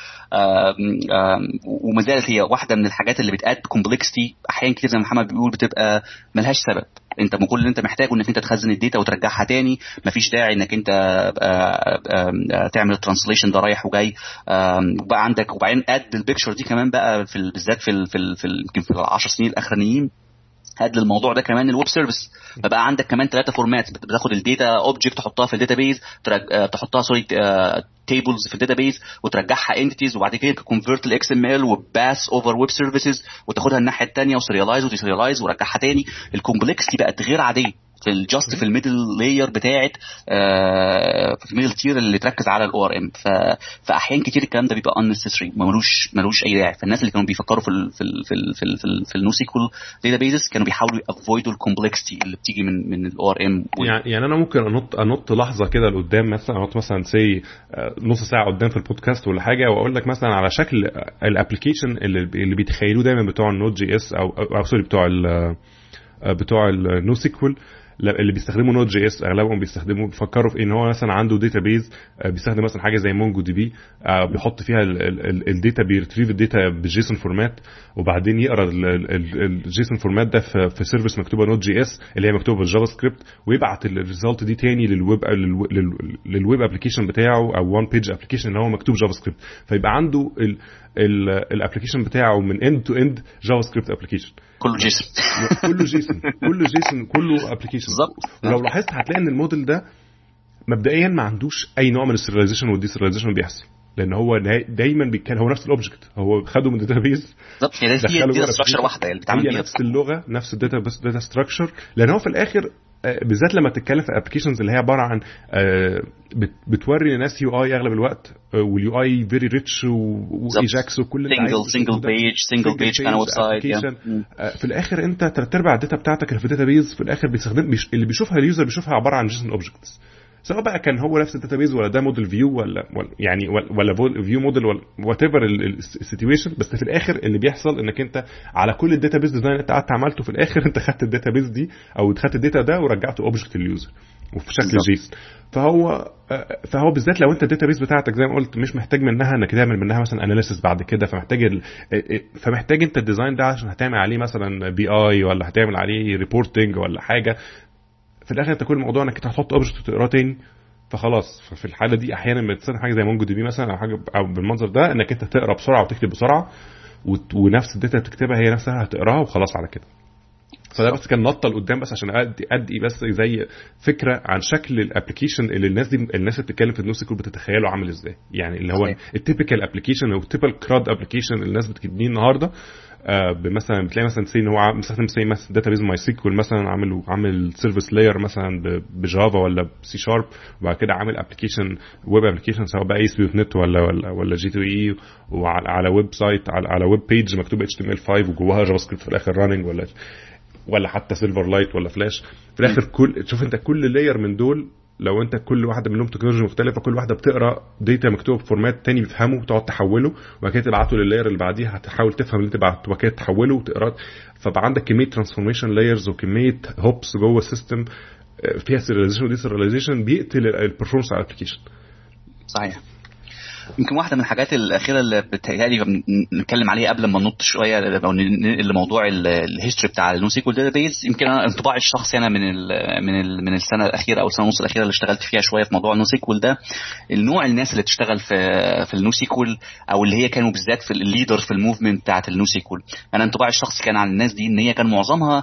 وما زالت هي واحده من الحاجات اللي بتاد كومبلكسيتي احيانا كتير زي ما محمد بيقول بتبقى ملهاش سبب. انت كل اللي انت محتاجه انك انت تخزن الداتا وترجعها تاني، مفيش داعي انك انت تعمل الترانسليشن ده رايح وجاي. وبقى عندك وبعدين اد البيكتشر دي كمان بقى في بالذات في في يمكن في العشر سنين الاخرانيين هاد للموضوع ده كمان الويب سيرفيس. فبقى عندك كمان ثلاثه فورمات، بتاخد الداتا اوبجكت تحطها في الداتابيز، تحطها سوري تيبلز في الداتابيز وترجعها انتيتيز، وبعد كده كونفرت الاكس ام ال وباس اوفر ويب سيرفيسز وتاخدها الناحيه الثانيه وسيريالايز وتسيريالايز ورجعها تاني. الكومبلكسيتي بقت غير عاديه في الجاست في الميدل لاير بتاعه آه في الميدل تير اللي تركز على الاو ار ام. فاحيان كتير الكلام ده بيبقى unnecessary ملوش ملوش اي داعي. فالناس اللي كانوا بيفكروا في ال في ال في ال في, ال في, ال في النو سيكول داتابيز كانوا بيحاولوا افويدوا الكومبلكسيتي اللي بتيجي من من الاو ار ام. يعني يعني انا ممكن انط انط لحظه كده لقدام، مثلا انط مثلا سي نص ساعه قدام في البودكاست ولا حاجه، واقول لك مثلا على شكل الابلكيشن اللي اللي بيتخيلوه دايما بتوع النود جي اس او او سوري بتوع ال بتوع النو سيكول اللي بيستخدموا نود جي اس. اغلبهم بيستخدموا بيفكروا في ان هو مثلا عنده داتابيز بيستخدم مثلا حاجه زي مونجو دي بي، بيحط فيها الداتا بيرتريف الداتا بالجيسون فورمات، وبعدين يقرا الجيسون فورمات ده في سيرفيس مكتوبه نود جي اس اللي هي مكتوبه بالجافا سكريبت، ويبعت الريزلت دي تاني للويب للويب ابلكيشن بتاعه او وان بيج ابلكيشن اللي هو مكتوب جافا سكريبت. فيبقى عنده الابلكيشن بتاعه من اند تو اند جافا سكريبت ابلكيشن. كله جيسون كله جيسون كله جيسون كله ابلكيشن. ولو لاحظت هتلاقي ان الموديل ده مبدئيا ما عندوش اي نوع من السيرياليزيشن والديسيرياليزيشن بيحصل، لان هو دايما بيتكلم هو نفس الاوبجكت، هو خده من الداتابيز بالظبط. هي دي ستراكشر واحده اللي بتعمل بيها نفس اللغه نفس الداتا بس داتا ستراكشر. لان هو في الاخر بالذات لما تتكلم في ابلكيشنز اللي هي عباره عن بتوري للناس يو اي اغلب الوقت، واليو اي فيري ريتش وايجاكس وكل اللي سنجل سنجل بيج سنجل بيج كان ويب سايت. في الاخر انت ثلاث ارباع الداتا بتاعتك اللي في الداتابيز في الاخر بيستخدم اللي بيشوفها اليوزر بيشوفها عباره عن جيسون اوبجكتس، سواء بقى كان هو نفس الداتابيز ولا ده موديل فيو ولا يعني ولا فيو موديل ولا وات ايفر السيتويشن. بس في الاخر اللي بيحصل انك انت على كل الداتابيز ديزاين اللي انت قعدت عملته في الاخر انت خدت الداتابيز دي او خدت الداتا ده ورجعته اوبجكت لليوزر وفي شكل جيسون. فهو فهو بالذات لو انت الداتابيز بتاعتك زي ما قلت مش محتاج منها انك تعمل منها مثلا اناليسيس بعد كده، فمحتاج ال... فمحتاج انت الديزاين ده عشان هتعمل عليه مثلا بي اي ولا هتعمل عليه ريبورتنج ولا حاجه. في الاخر انت كل الموضوع انك هتحط اوبجكت تقراه تاني، فخلاص في الحاله دي احيانا بتصير حاجه زي مونجو دي بي مثلا او حاجه او بالمنظر ده انك انت تقرا بسرعه وتكتب بسرعه ونفس الداتا تكتبها هي نفسها هتقراها وخلاص على كده. فده بس كان نطه لقدام بس عشان ادي ادي بس زي فكره عن شكل الابلكيشن اللي الناس دي الناس اللي بتتكلم في النوسيكول بتتخيله عامل ازاي، يعني اللي هو التيبيكال ابلكيشن او التيبيكال كراد ابلكيشن اللي الناس بتبنيه النهارده. آه مثلا بتلاقي مثلا سي ان هو مستخدم سي مثلا داتابيز ماي سيكوال مثلا عامل عامل سيرفيس لاير مثلا بجافا ولا سي شارب، وبعد كده عامل ابلكيشن ويب ابلكيشن سواء بقى اس بي دوت نت ولا ولا ولا جي تو اي وعلى ويب سايت على, على ويب بيج مكتوب اتش تي ام ال خمسة وجواها جافا سكريبت في الاخر راننج ولا ولا حتى سيلفر لايت ولا فلاش في الاخر. كل شوف انت كل لاير من دول لو انت كل واحده منهم تكنولوجيا مختلفه كل واحده بتقرا داتا مكتوبه بفورمات تاني بيفهمه وتقعد تحوله وبعد كده تبعته لللاير اللي بعديها هتحاول تفهم اللي انت بعته وبعد كده تحوله وتقراه. فبقى عندك كميه ترانسفورميشن لايرز وكميه هوبس جوه السيستم فيها سيرياليزيشن وديسيرياليزيشن بيقتل البرفورمانس على الابلكيشن. صحيح. يمكن واحده من الحاجات الاخيره اللي بتهيألي نتكلم عليها قبل ما ننط شويه او ننقل لموضوع الهيستوري بتاع النوسيكول داتابيز. يمكن انا انطباعي الشخصي انا من ال من ال من السنه الاخيره او السنه ونص الاخيره اللي اشتغلت فيها شويه في موضوع النوسيكول ده، النوع الناس اللي تشتغل في في النوسيكول او اللي هي كانوا بالذات في الليدر في الموفمنت بتاعه النوسيكول. انا انطباعي الشخصي كان عن الناس دي ان هي كان معظمها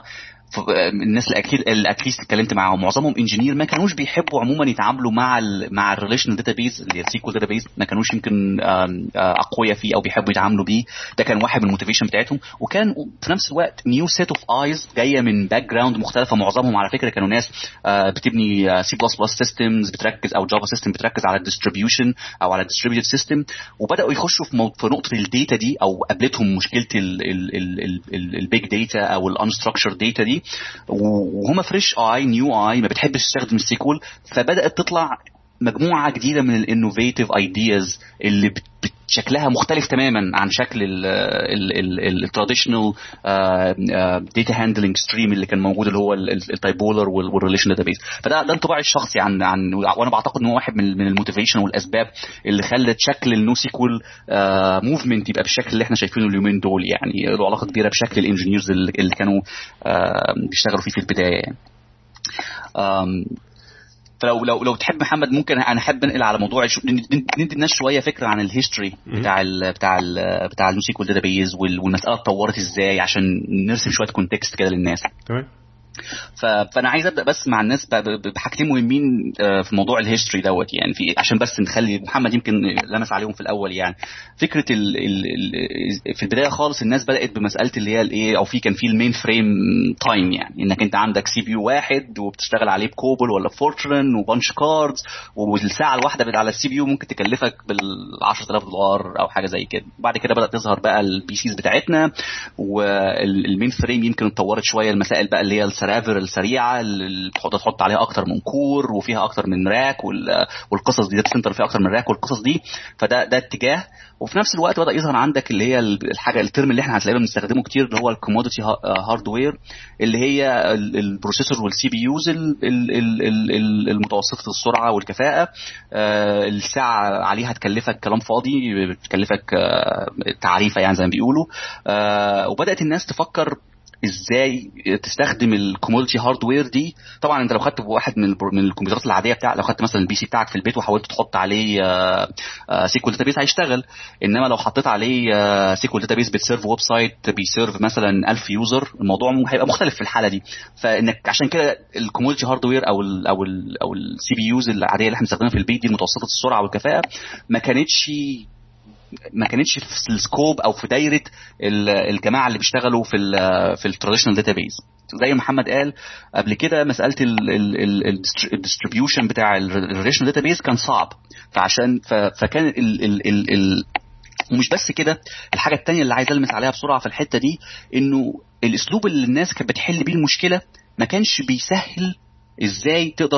الناس الاكيد الاكيست اتكلمت معاهم معظمهم انجينير ما كانوش بيحبوا عموما يتعاملوا مع ال مع الريليشنال داتابيز اللي هي السيكوال داتابيز، ما كانوش يمكن اقوياء فيه او بيحبوا يتعاملوا بيه. ده كان واحد من الموتيفيشن بتاعتهم. وكان في نفس الوقت نيو سيت اوف ايز جايه من باك جراوند مختلفه. معظمهم على فكره كانوا ناس بتبني سي بلس بلس سيستمز بتركز او جافا سيستم بتركز على الديستريبيوشن او على الديستريبيوتد سيستم، وبداوا يخشوا في في نقطه الداتا دي او قابلتهم مشكله البيج داتا او الانستراكشرد داتا دي، وهم فريش اي نيو اي ما بتحبش تستخدم السيكول. فبدات تطلع مجموعه جديده من الانوفيتيف ايدياز اللي شكلها مختلف تماما عن شكل التراديشنال داتا هاندلنج ستريم اللي كان موجود اللي هو التايبولر والريليشن داتابيز. فده ده انطباعي الشخصي عن عن وانا بعتقد ان هو واحد من من الموتيفيشن والاسباب اللي خلت شكل النوسيكول موفمنت يبقى بالشكل اللي احنا شايفينه اليومين دول. يعني له علاقه كبيره بشكل الانجينيرز اللي كانوا بيشتغلوا فيه في البدايه يعني. فلو لو لو تحب محمد ممكن انا احب انقل على موضوع ندي الناس شويه فكره عن الهيستوري بتاع ال بتاع ال بتاع النوسيكول داتابيز والمساله اتطورت ازاي عشان نرسم شويه كونتكست كده للناس. تمام. فانا عايز ابدا بس مع الناس بحاجتين مهمين في موضوع الهيستوري دوت يعني في عشان بس نخلي محمد يمكن لمس عليهم في الاول. يعني فكره ال ال في البدايه خالص الناس بدات بمساله اللي هي الايه او في كان في المين فريم تايم، يعني انك انت عندك سي بي يو واحد وبتشتغل عليه بكوبل ولا فورترن وبانش كاردز، والساعه الواحده على السي بي يو ممكن تكلفك بال عشرة آلاف دولار او حاجه زي كده. بعد كده بدات تظهر بقى البي سيز بتاعتنا والمين فريم يمكن اتطورت شويه المسائل بقى اللي هي السيرفر السريعه اللي تحط تحط عليها اكتر من كور وفيها اكتر من راك والقصص دي داتا سنتر فيها اكتر من راك والقصص دي. فده ده اتجاه. وفي نفس الوقت بدا يظهر عندك اللي هي الحاجه الترم اللي احنا هتلاقيه بنستخدمه كتير اللي هو الكوموديتي هاردوير اللي هي البروسيسور والسي بي يوز المتوسطه السرعه والكفاءه. الساعه عليها تكلفك كلام فاضي بتكلفك تعريفه يعني زي ما بيقولوا. وبدات الناس تفكر ازاي تستخدم الكوموديتي هاردوير دي. طبعا انت لو خدت واحد من من الكمبيوترات العاديه بتاع، لو خدت مثلا البي سي بتاعك في البيت وحاولت تحط عليه سيكوال داتابيس هيشتغل، انما لو حطيت عليه سيكوال داتابيس بتسيرف ويب سايت بيسيرف مثلا ألف يوزر، الموضوع هيبقى مختلف في الحاله دي. فانك عشان كده الكوموديتي هاردوير او ال او ال او السي بي يوز العاديه اللي احنا بنستخدمها في البيت دي متوسطه السرعه والكفاءه ما كانتش ما كانتش في السكوب او في دايره الجماعه اللي بيشتغلوا في ال في التراديشنال داتابيز. زي محمد قال قبل كده مساله الديستريبيوشن بتاع الريليشنال داتابيز كان صعب، فعشان فكان ال ال ال ال ومش بس كده، الحاجه الثانيه اللي عايز المس عليها بسرعه في الحته دي انه الاسلوب اللي الناس كانت بتحل بيه المشكله ما كانش بيسهل ازاي تقدر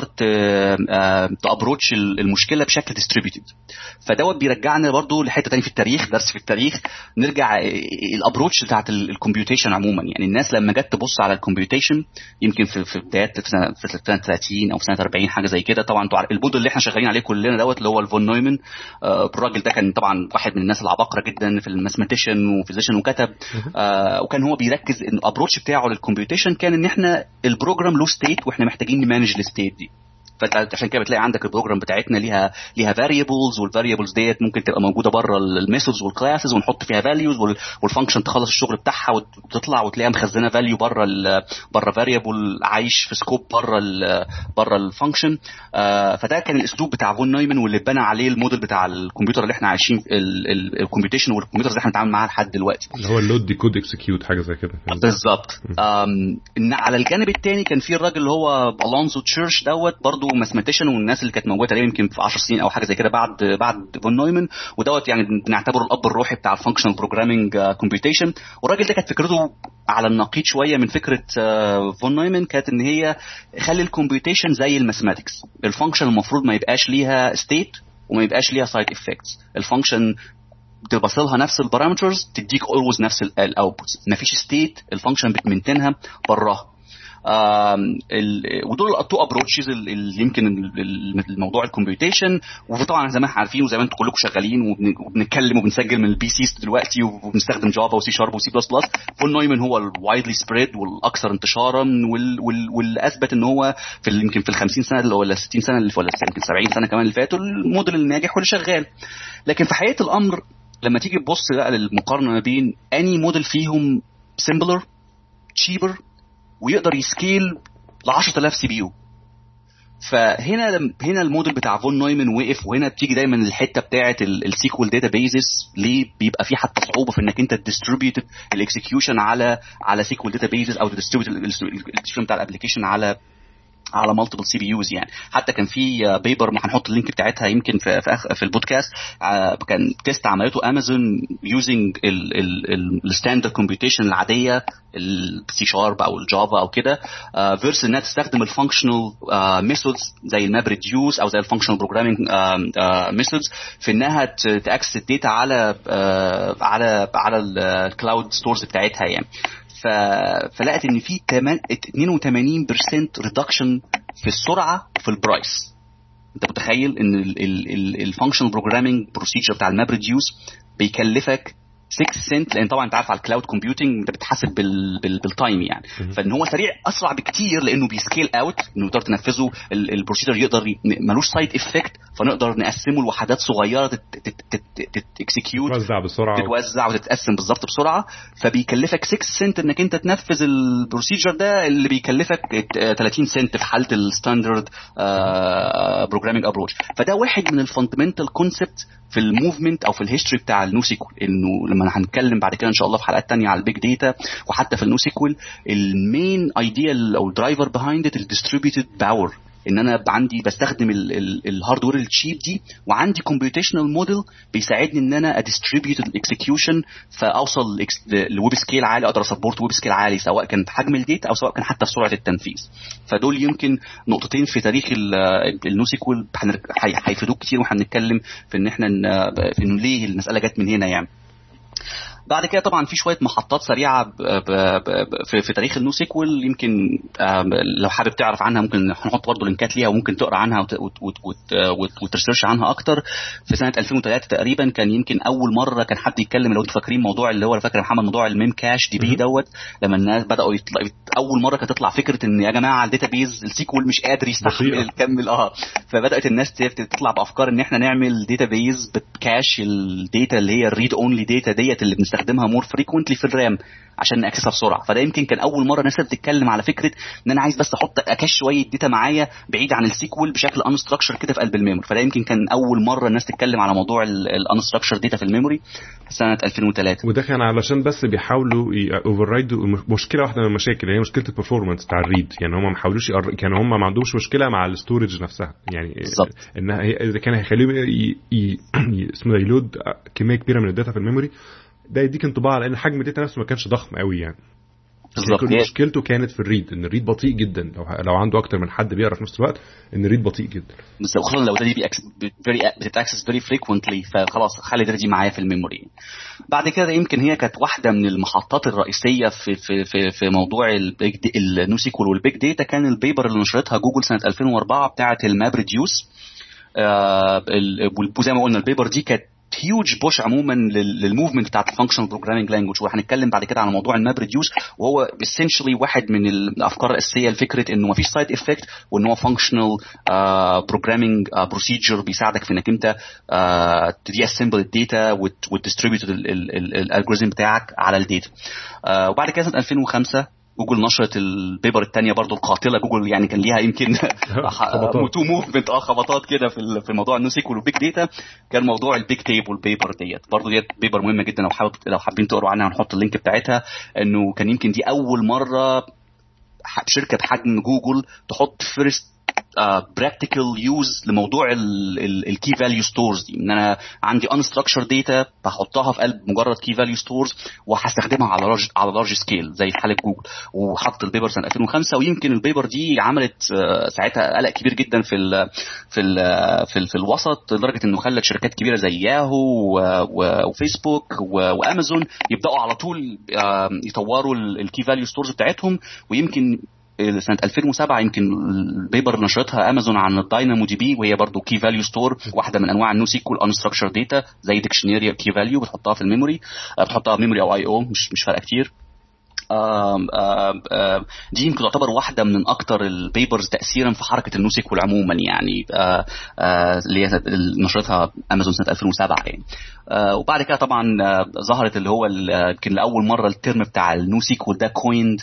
تابروتش المشكله بشكل ديستريبيوتد. فدوت بيرجعنا برضو لحته تاني في التاريخ، درس في التاريخ، نرجع الابروتش بتاعت الكمبيوتيشن عموما. يعني الناس لما جت تبص على الكمبيوتيشن يمكن في في بدايات في سنه في سنه ثلاثين او سنه أربعين حاجه زي كده. طبعا انتوا البودل اللي احنا شغالين عليه كلنا دوت اللي هو الفون نويمان، الراجل ده كان طبعا واحد من الناس العباقره جدا في الماثماتيشن وفيزيشن وكتب، وكان هو بيركز ان الابروتش بتاعه للكمبيوتيشن كان ان احنا البروجرام له ستيت واحنا محتاجين مانج الستيت دي. فعشان كده بتلاقي عندك البروجرام بتاعتنا ليها ليها فاريبلز، والفاريبلز ديت ممكن تبقى موجوده بره الميثودز والكلاسز ونحط فيها فاليوز، والفانكشن تخلص الشغل بتاعها وتطلع وتلاقيها مخزنه فاليو بره بره فاريبل عايش في سكوب بره بره الفانكشن. آه فده كان الاسلوب بتاع فون نويمان واللي اتبنى عليه الموديل بتاع الكمبيوتر اللي احنا عايشين الكمبيوتيشن والكمبيوترز اللي احنا بنتعامل معاها لحد دلوقتي، اللي هو اللود ديكود اكسكيوت حاجه زي كده بالظبط. على الجانب الثاني كان في الراجل اللي هو الونزو تشيرش دوت برضو ماثماتيشن، والناس اللي كانت موجوده تقريبا يمكن في عشر سنين او حاجه زي كده بعد بعد فون نويمان، ودوت يعني بنعتبره الاب الروحي بتاع الفانكشنال بروجرامينج كومبيوتيشن. والراجل ده كانت فكرته على النقيض شويه من فكره فون نويمان، كانت ان هي خلي الكومبيوتيشن زي الماثماتكس، الفانكشن المفروض ما يبقاش ليها ستيت وما يبقاش ليها سايد افكتس، الفانكشن تبصلها نفس البارامترز تديك اولويز نفس الاوتبوتس، مفيش ستيت الفانكشن بتمنتنها براها. ودول التو ابروتشز اللي يمكن الموضوع الكمبيوتيشن. وطبعا زي ما احنا عارفين وزي ما انتم كلكم شغالين وبنتكلم وبنسجل من البي سيز دلوقتي وبنستخدم جافا وسي شارب وسي بلس بلس، فون نويمان هو الوايدلي سبريد والاكثر انتشارا واللي اثبت ان هو في يمكن في ال خمسين سنه اللي ولا ستين سنه اللي ولا يمكن سبعين سنه كمان اللي فاتوا الموديل الناجح واللي شغال. لكن في حقيقه الامر لما تيجي تبص بقى للمقارنه ما بين اني موديل فيهم سيمبلر تشيبر ويقدر يسكيل ل عشرة آلاف سي بي يو، فهنا هنا الموديل بتاع فون نويمان وقف. وهنا بتيجي دايما الحته بتاعه السيكوال داتابيزز، ليه بيبقى في حتى صعوبه في انك انت تديستريبيوت الاكسكيوشن على على سيكوال داتابيزز او تديستريبيوت الاكسكيوشن بتاع الابلكيشن على على مالتيبل سي بي يوز. يعني حتى كان في بيبر ما هنحط اللينك بتاعتها يمكن في في, في البودكاست، كان تيست عملته امازون يوزنج الستاندرد كومبيوتيشن العاديه السي شارب او الجافا او كده فيرس انها تستخدم الفانكشنال ميثودز زي الماب ريديوس او زي الفانكشنال بروجرامينج ميثودز في انها تاكسس الداتا على على على الكلاود ستورز بتاعتها يعني. فلقت ان في اثنين وثمانين بالمية ريدكشن في السرعه وفي البرايس. انت متخيل ان الفانكشنال بروجرامينج بروسيجر بتاع الماب ريديوس بيكلفك ستة سنت، لان طبعا انت عارف على الكلاود كومبيوتنج انت بتحاسب بال بال بالتايم يعني، فان هو سريع اسرع بكتير لانه بيسكيل اوت، انه تقدر تنفذه البروسيجر يقدر ملوش سايد افكت، فنقدر نقسمه لوحدات صغيره تكسكيوت تتوزع بسرعه تتوزع وتتقسم بالظبط بسرعه. فبيكلفك ستة سنت انك انت تنفذ البروسيجر ده اللي بيكلفك ثلاثين سنت في حاله الستاندرد بروجرامينج ابروتش. فده واحد من الفاندمنتال كونسبت في الموفمنت او في الهيستوري بتاع النوسيكول، انه لما هنتكلم بعد كده ان شاء الله في حلقات تانية على البيج داتا وحتى في النوسيكول المين ايديا او الدرايفر بيهايند ات الديستريبيوتد باور، ان انا عندي بستخدم الهاردوير التشيب دي وعندي كومبيوتيشنال موديل بيساعدني ان انا اديستريبيوت الاكسكيوشن فاوصل لويب سكيل عالي، اقدر اسبورت ويب سكيل عالي سواء كان في حجم الداتا او سواء كان حتى في سرعه التنفيذ. فدول يمكن نقطتين في تاريخ النوسيكول هيفيدوك كتير واحنا بنتكلم في ان احنا في انه ليه المساله جت من هنا يعني. بعد كده طبعا في شويه محطات سريعه ب ب ب في, في تاريخ النو سيكوال، يمكن لو حابب تعرف عنها ممكن نحط برضه لينكات ليها وممكن تقرا عنها وترسيرش عنها اكتر. في سنه ألفين وثلاثة تقريبا كان يمكن اول مره كان حد يتكلم، لو انتوا فاكرين موضوع اللي هو فاكر محمد موضوع الميم كاش دي بي دوت، لما الناس بداوا يطلع اول مره كانت تطلع فكره ان يا جماعه الداتابيز السيكوال مش قادر يستحمل الكمل اه فبدات الناس تطلع بافكار ان احنا نعمل داتابيز بتكاش الداتا اللي هي الريد اونلي داتا ديت اللي بنستخدمها مور فريكوينتلي في الرام عشان ناكسسها بسرعه. فده يمكن كان اول مره الناس بتتكلم على فكره ان انا عايز بس احط اكاش شويه داتا معايا بعيد عن السيكوال بشكل انستراكشر كده في قلب الميموري. فده يمكن كان اول مره الناس تتكلم على موضوع الانستراكشر داتا في الميموري سنه ألفين وثلاثة. وده كان علشان بس بيحاولوا اوفررايدوا مشكله واحده من المشاكل، هي مشكله البرفورمانس بتاع الريد. يعني هم ما حاولوش يقر... كانوا هم ما عندهمش مشكله مع الاستورج نفسها، يعني بالظبط انها اذا كان هيخليه ي... ي... اسمه يلود كميه كبيره من الداتا في الميموري، ده يديك انطباع على ان حجم الداتا نفسه ما كانش ضخم قوي يعني. بالظبط. مشكلته كانت في الريد، ان الريد بطيء جدا، لو لو عنده اكتر من حد بيقرا في نفس الوقت ان الريد بطيء جدا، بالظبط، خصوصا لو ده دي فيري بتاكسس فيري فريكوينتلي، فخلاص خلي ده دي معايا في الميموري. بعد كده يمكن هي كانت واحده من المحطات الرئيسيه في في في, في موضوع النو سيكوال والبيج داتا، كان البيبر اللي نشرتها جوجل سنه ألفين وأربعة بتاعه الماب ريديوس. آه زي ما قلنا البيبر دي كانت هيوج بوش عموما للموفمنت بتاعت الفانكشنال بروجرامينج لانجويج، وهنتكلم بعد كده على موضوع الماب ريديوس، وهو اسينشلي واحد من الافكار الاساسيه لفكره انه مفيش سايد افكت، وان هو فانكشنال بروجرامينج بروسيجر بيساعدك في انك انت تدي اسمبل الداتا وتديستريبيوت الالجوريزم بتاعك على الداتا. uh, وبعد كده سنه ألفين وخمسة جوجل نشرت البيبر الثانيه برضو القاتله. جوجل يعني كان ليها يمكن تو موفمنت اه خبطات كده في في موضوع النو سيكوال والبيج داتا، كان موضوع البيج تيبل بيبر ديت. برضو ديت بيبر مهمه جدا، لو حابب لو حابين تقروا عنها هنحط اللينك بتاعتها. انه كان يمكن دي اول مره شركه بحجم جوجل تحط فيرست براكتيكال uh, يوز لموضوع الكي فاليو ستورز دي، ان انا عندي unstructured data بحطها في قلب مجرد كي فاليو ستورز وهستخدمها على لارج على لارج سكيل زي حاله جوجل. وحط البيبر سنه ألفين وخمسة، ويمكن البيبر دي عملت uh, ساعتها قلق كبير جدا في ال في ال في, ال في الوسط، لدرجه انه خلت شركات كبيره زي ياهو وفيسبوك وامازون يبداوا على طول uh, يطوروا الكي فاليو ستورز بتاعتهم. ويمكن سنه ألفين وسبعة يمكن البيبر نشرتها امازون عن الداينامو دي بي، وهي برضو كي فاليو ستور، واحده من انواع النو سيكوال انستراكشر داتا زي ديكشنري كي فاليو بتحطها في الميموري، بتحطها ميموري او اي او مش مش فارقه كتير. آم آم آم دي يمكن تعتبر واحده من اكتر البيبرز تاثيرا في حركه النو سيكوال عموما، يعني اللي هي نشرتها امازون سنه ألفين وسبعة يعني. وبعد كده طبعا ظهرت اللي هو يمكن لاول مره الترم بتاع النو سيكوال ده كويند.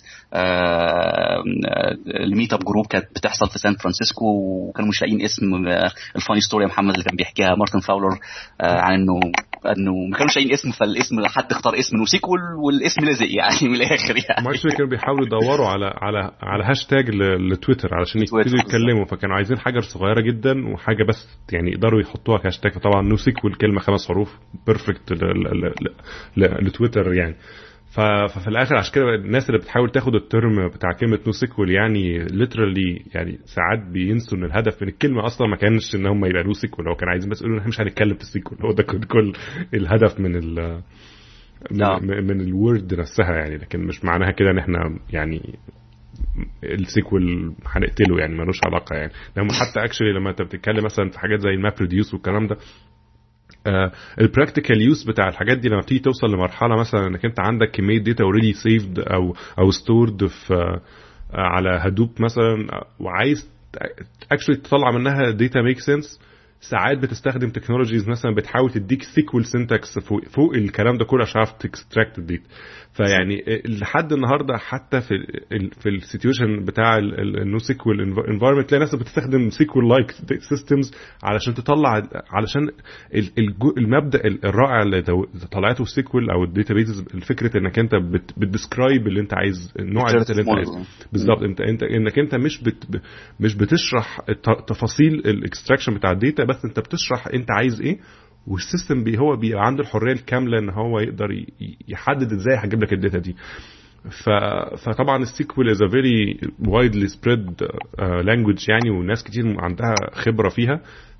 الميت اب جروب كانت بتحصل في سان فرانسيسكو، وكانوا مش لاقيين اسم. الفاني ستوري يا محمد اللي كان بيحكيها مارتن فاولر عن انه انه ما كانوش لاقيين اسم، فالاسم حد اختار اسم نو سيكوال والاسم لزق يعني من الاخر يعني. مارتن كانوا بيحاولوا يدوروا على على على هاشتاج لتويتر علشان يبتدوا يتكلموا، فكانوا عايزين حاجه صغيره جدا وحاجه بس يعني يقدروا يحطوها كهاشتاج. طبعا نو سيكوال كلمه خمس حروف بيرفكت لتويتر يعني. ففي الاخر عشان كده الناس اللي بتحاول تاخد الترم بتاع كلمه نو سيكوال يعني ليترالي يعني ساعات بينسوا ان الهدف من الكلمه اصلا ما كانش ان هم يبقى نو سيكوال، هو كان عايزين بس يقولوا احنا مش هنتكلم في السيكوال. هو ده كل الهدف من ال من, من الورد نفسها يعني، لكن مش معناها كده ان احنا يعني السيكوال هنقتله يعني، ملوش علاقه يعني. لما حتى اكشلي لما انت بتتكلم مثلا في حاجات زي الماب ريديوس والكلام ده، البراكتيكال يوز بتاع الحاجات دي لما بتيجي توصل لمرحله مثلا انك انت عندك كميه داتا اوريدي سيفد او او ستورد في uh, على هدوب مثلا، وعايز اكشلي تطلع منها داتا ميك سنس، ساعات بتستخدم تكنولوجيز مثلا بتحاول تديك سيكوال سينتاكس فوق, فوق الكلام ده كله عشان تعرف تكستراكت الداتا. فيعني لحد النهارده حتى في ال في السيتويشن بتاع النو سيكوال انفايرمنت تلاقي ناس بتستخدم سيكوال لايك سيستمز علشان تطلع، علشان المبدا الرائع اللي طلعته السيكوال او الداتابيز، الفكره انك انت بتديسكرايب اللي انت عايز، النوع اللي انت عايزه بالظبط. انت انت انك انت مش بت مش بتشرح تفاصيل الاكستراكشن بتاع الداتا، بس انت بتشرح انت عايز ايه، والسيستم بي هو بيبقى عنده الحريه الكامله ان هو يقدر يحدد ازاي هجيب لك الداتا دي. ف فطبعا السيكوال از ا فيري وايدلي سبريد لانجويج يعني، والناس كتير عندها خبره فيها.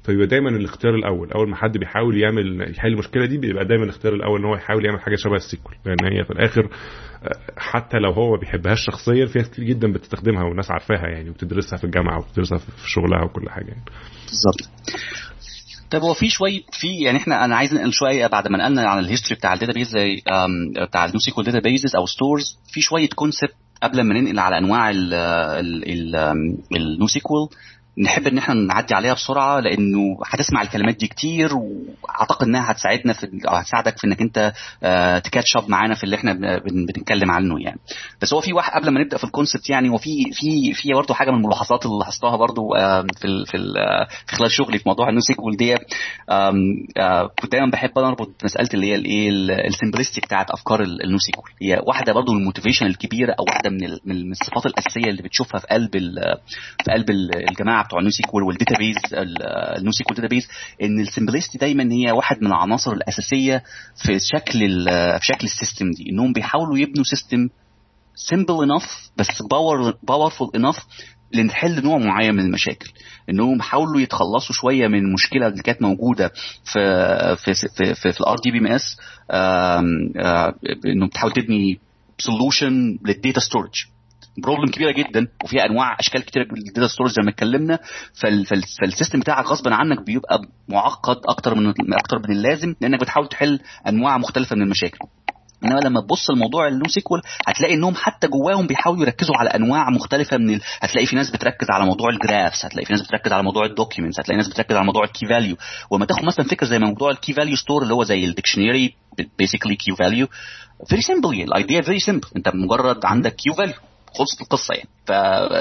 فيبقى دايما الاختيار الاول اول ما حد بيحاول يعمل يحل المشكله دي بيبقى دايما الاختيار الاول ان هو يحاول يعمل حاجه شبه السيكوال لان هي في الاخر حتى لو هو بيحبهاش شخصيا في ناس كتير جدا بتستخدمها والناس عارفاها يعني وبتدرسها في الجامعه وبتدرسها في شغلها وكل حاجه يعني. بالظبط. طب هو في شويه في يعني احنا انا عايز ننقل شويه بعد ما نقلنا عن الهيستوري بتاع الداتابيز زي بتاع النو سيكوال داتابيزز او ستورز في شويه كونسبت قبل ما ننقل على انواع النو سيكوال نحب ان احنا نعدي عليها بسرعه لانه هتسمع الكلمات دي كتير واعتقد انها هتساعدنا في او هتساعدك في انك انت تكاتش اب معانا في اللي احنا بنتكلم عنه يعني. بس هو في واحد قبل ما نبدا في الكونسبت يعني وفي في في برضه حاجه من الملاحظات اللي لاحظتها برضه في في في خلال شغلي في موضوع النو سيكوال دي كنت دايما بحب اربط مساله اللي هي الايه السمبلستي بتاعت افكار النو سيكوال. هي واحده برضه من الموتيفيشن الكبيره او واحده من من الصفات الاساسيه اللي بتشوفها في قلب في قلب الجماعه بتوع النو سيكوال والداتابيز النو سيكوال داتابيز ان السمبلستي دايما هي واحد من العناصر الاساسيه في شكل في شكل السيستم دي انهم بيحاولوا يبنوا سيستم simple enough بس باور باورفul enough لنحل نوع معين من المشاكل. انهم حاولوا يتخلصوا شويه من المشكله اللي كانت موجوده في في في في, في الار دي بي ام اس انهم بتحاول تبني سولوشن للداتا ستورج بروبلم كبيره جدا وفيها انواع اشكال كتيره للداتا ستورج زي ما اتكلمنا. فالسيستم بتاعك غصبا عنك بيبقى معقد اكتر من اكتر من اللازم لانك بتحاول تحل انواع مختلفه من المشاكل. انما لما تبص الموضوع النو سيكوال هتلاقي انهم حتى جواهم بيحاولوا يركزوا على انواع مختلفه من ال... هتلاقي في ناس بتركز على موضوع الجرافس هتلاقي في ناس بتركز على موضوع الدوكيومنتس هتلاقي ناس بتركز على موضوع الكي فاليو. وما تاخد مثلا فكره زي موضوع الكي فاليو ستور اللي هو زي الديكشنري بيسيكلي كيو فاليو فيري سيمبل الايديا فيري سيمبل انت مجرد عندك كيو فاليو خلصت القصه يعني. ف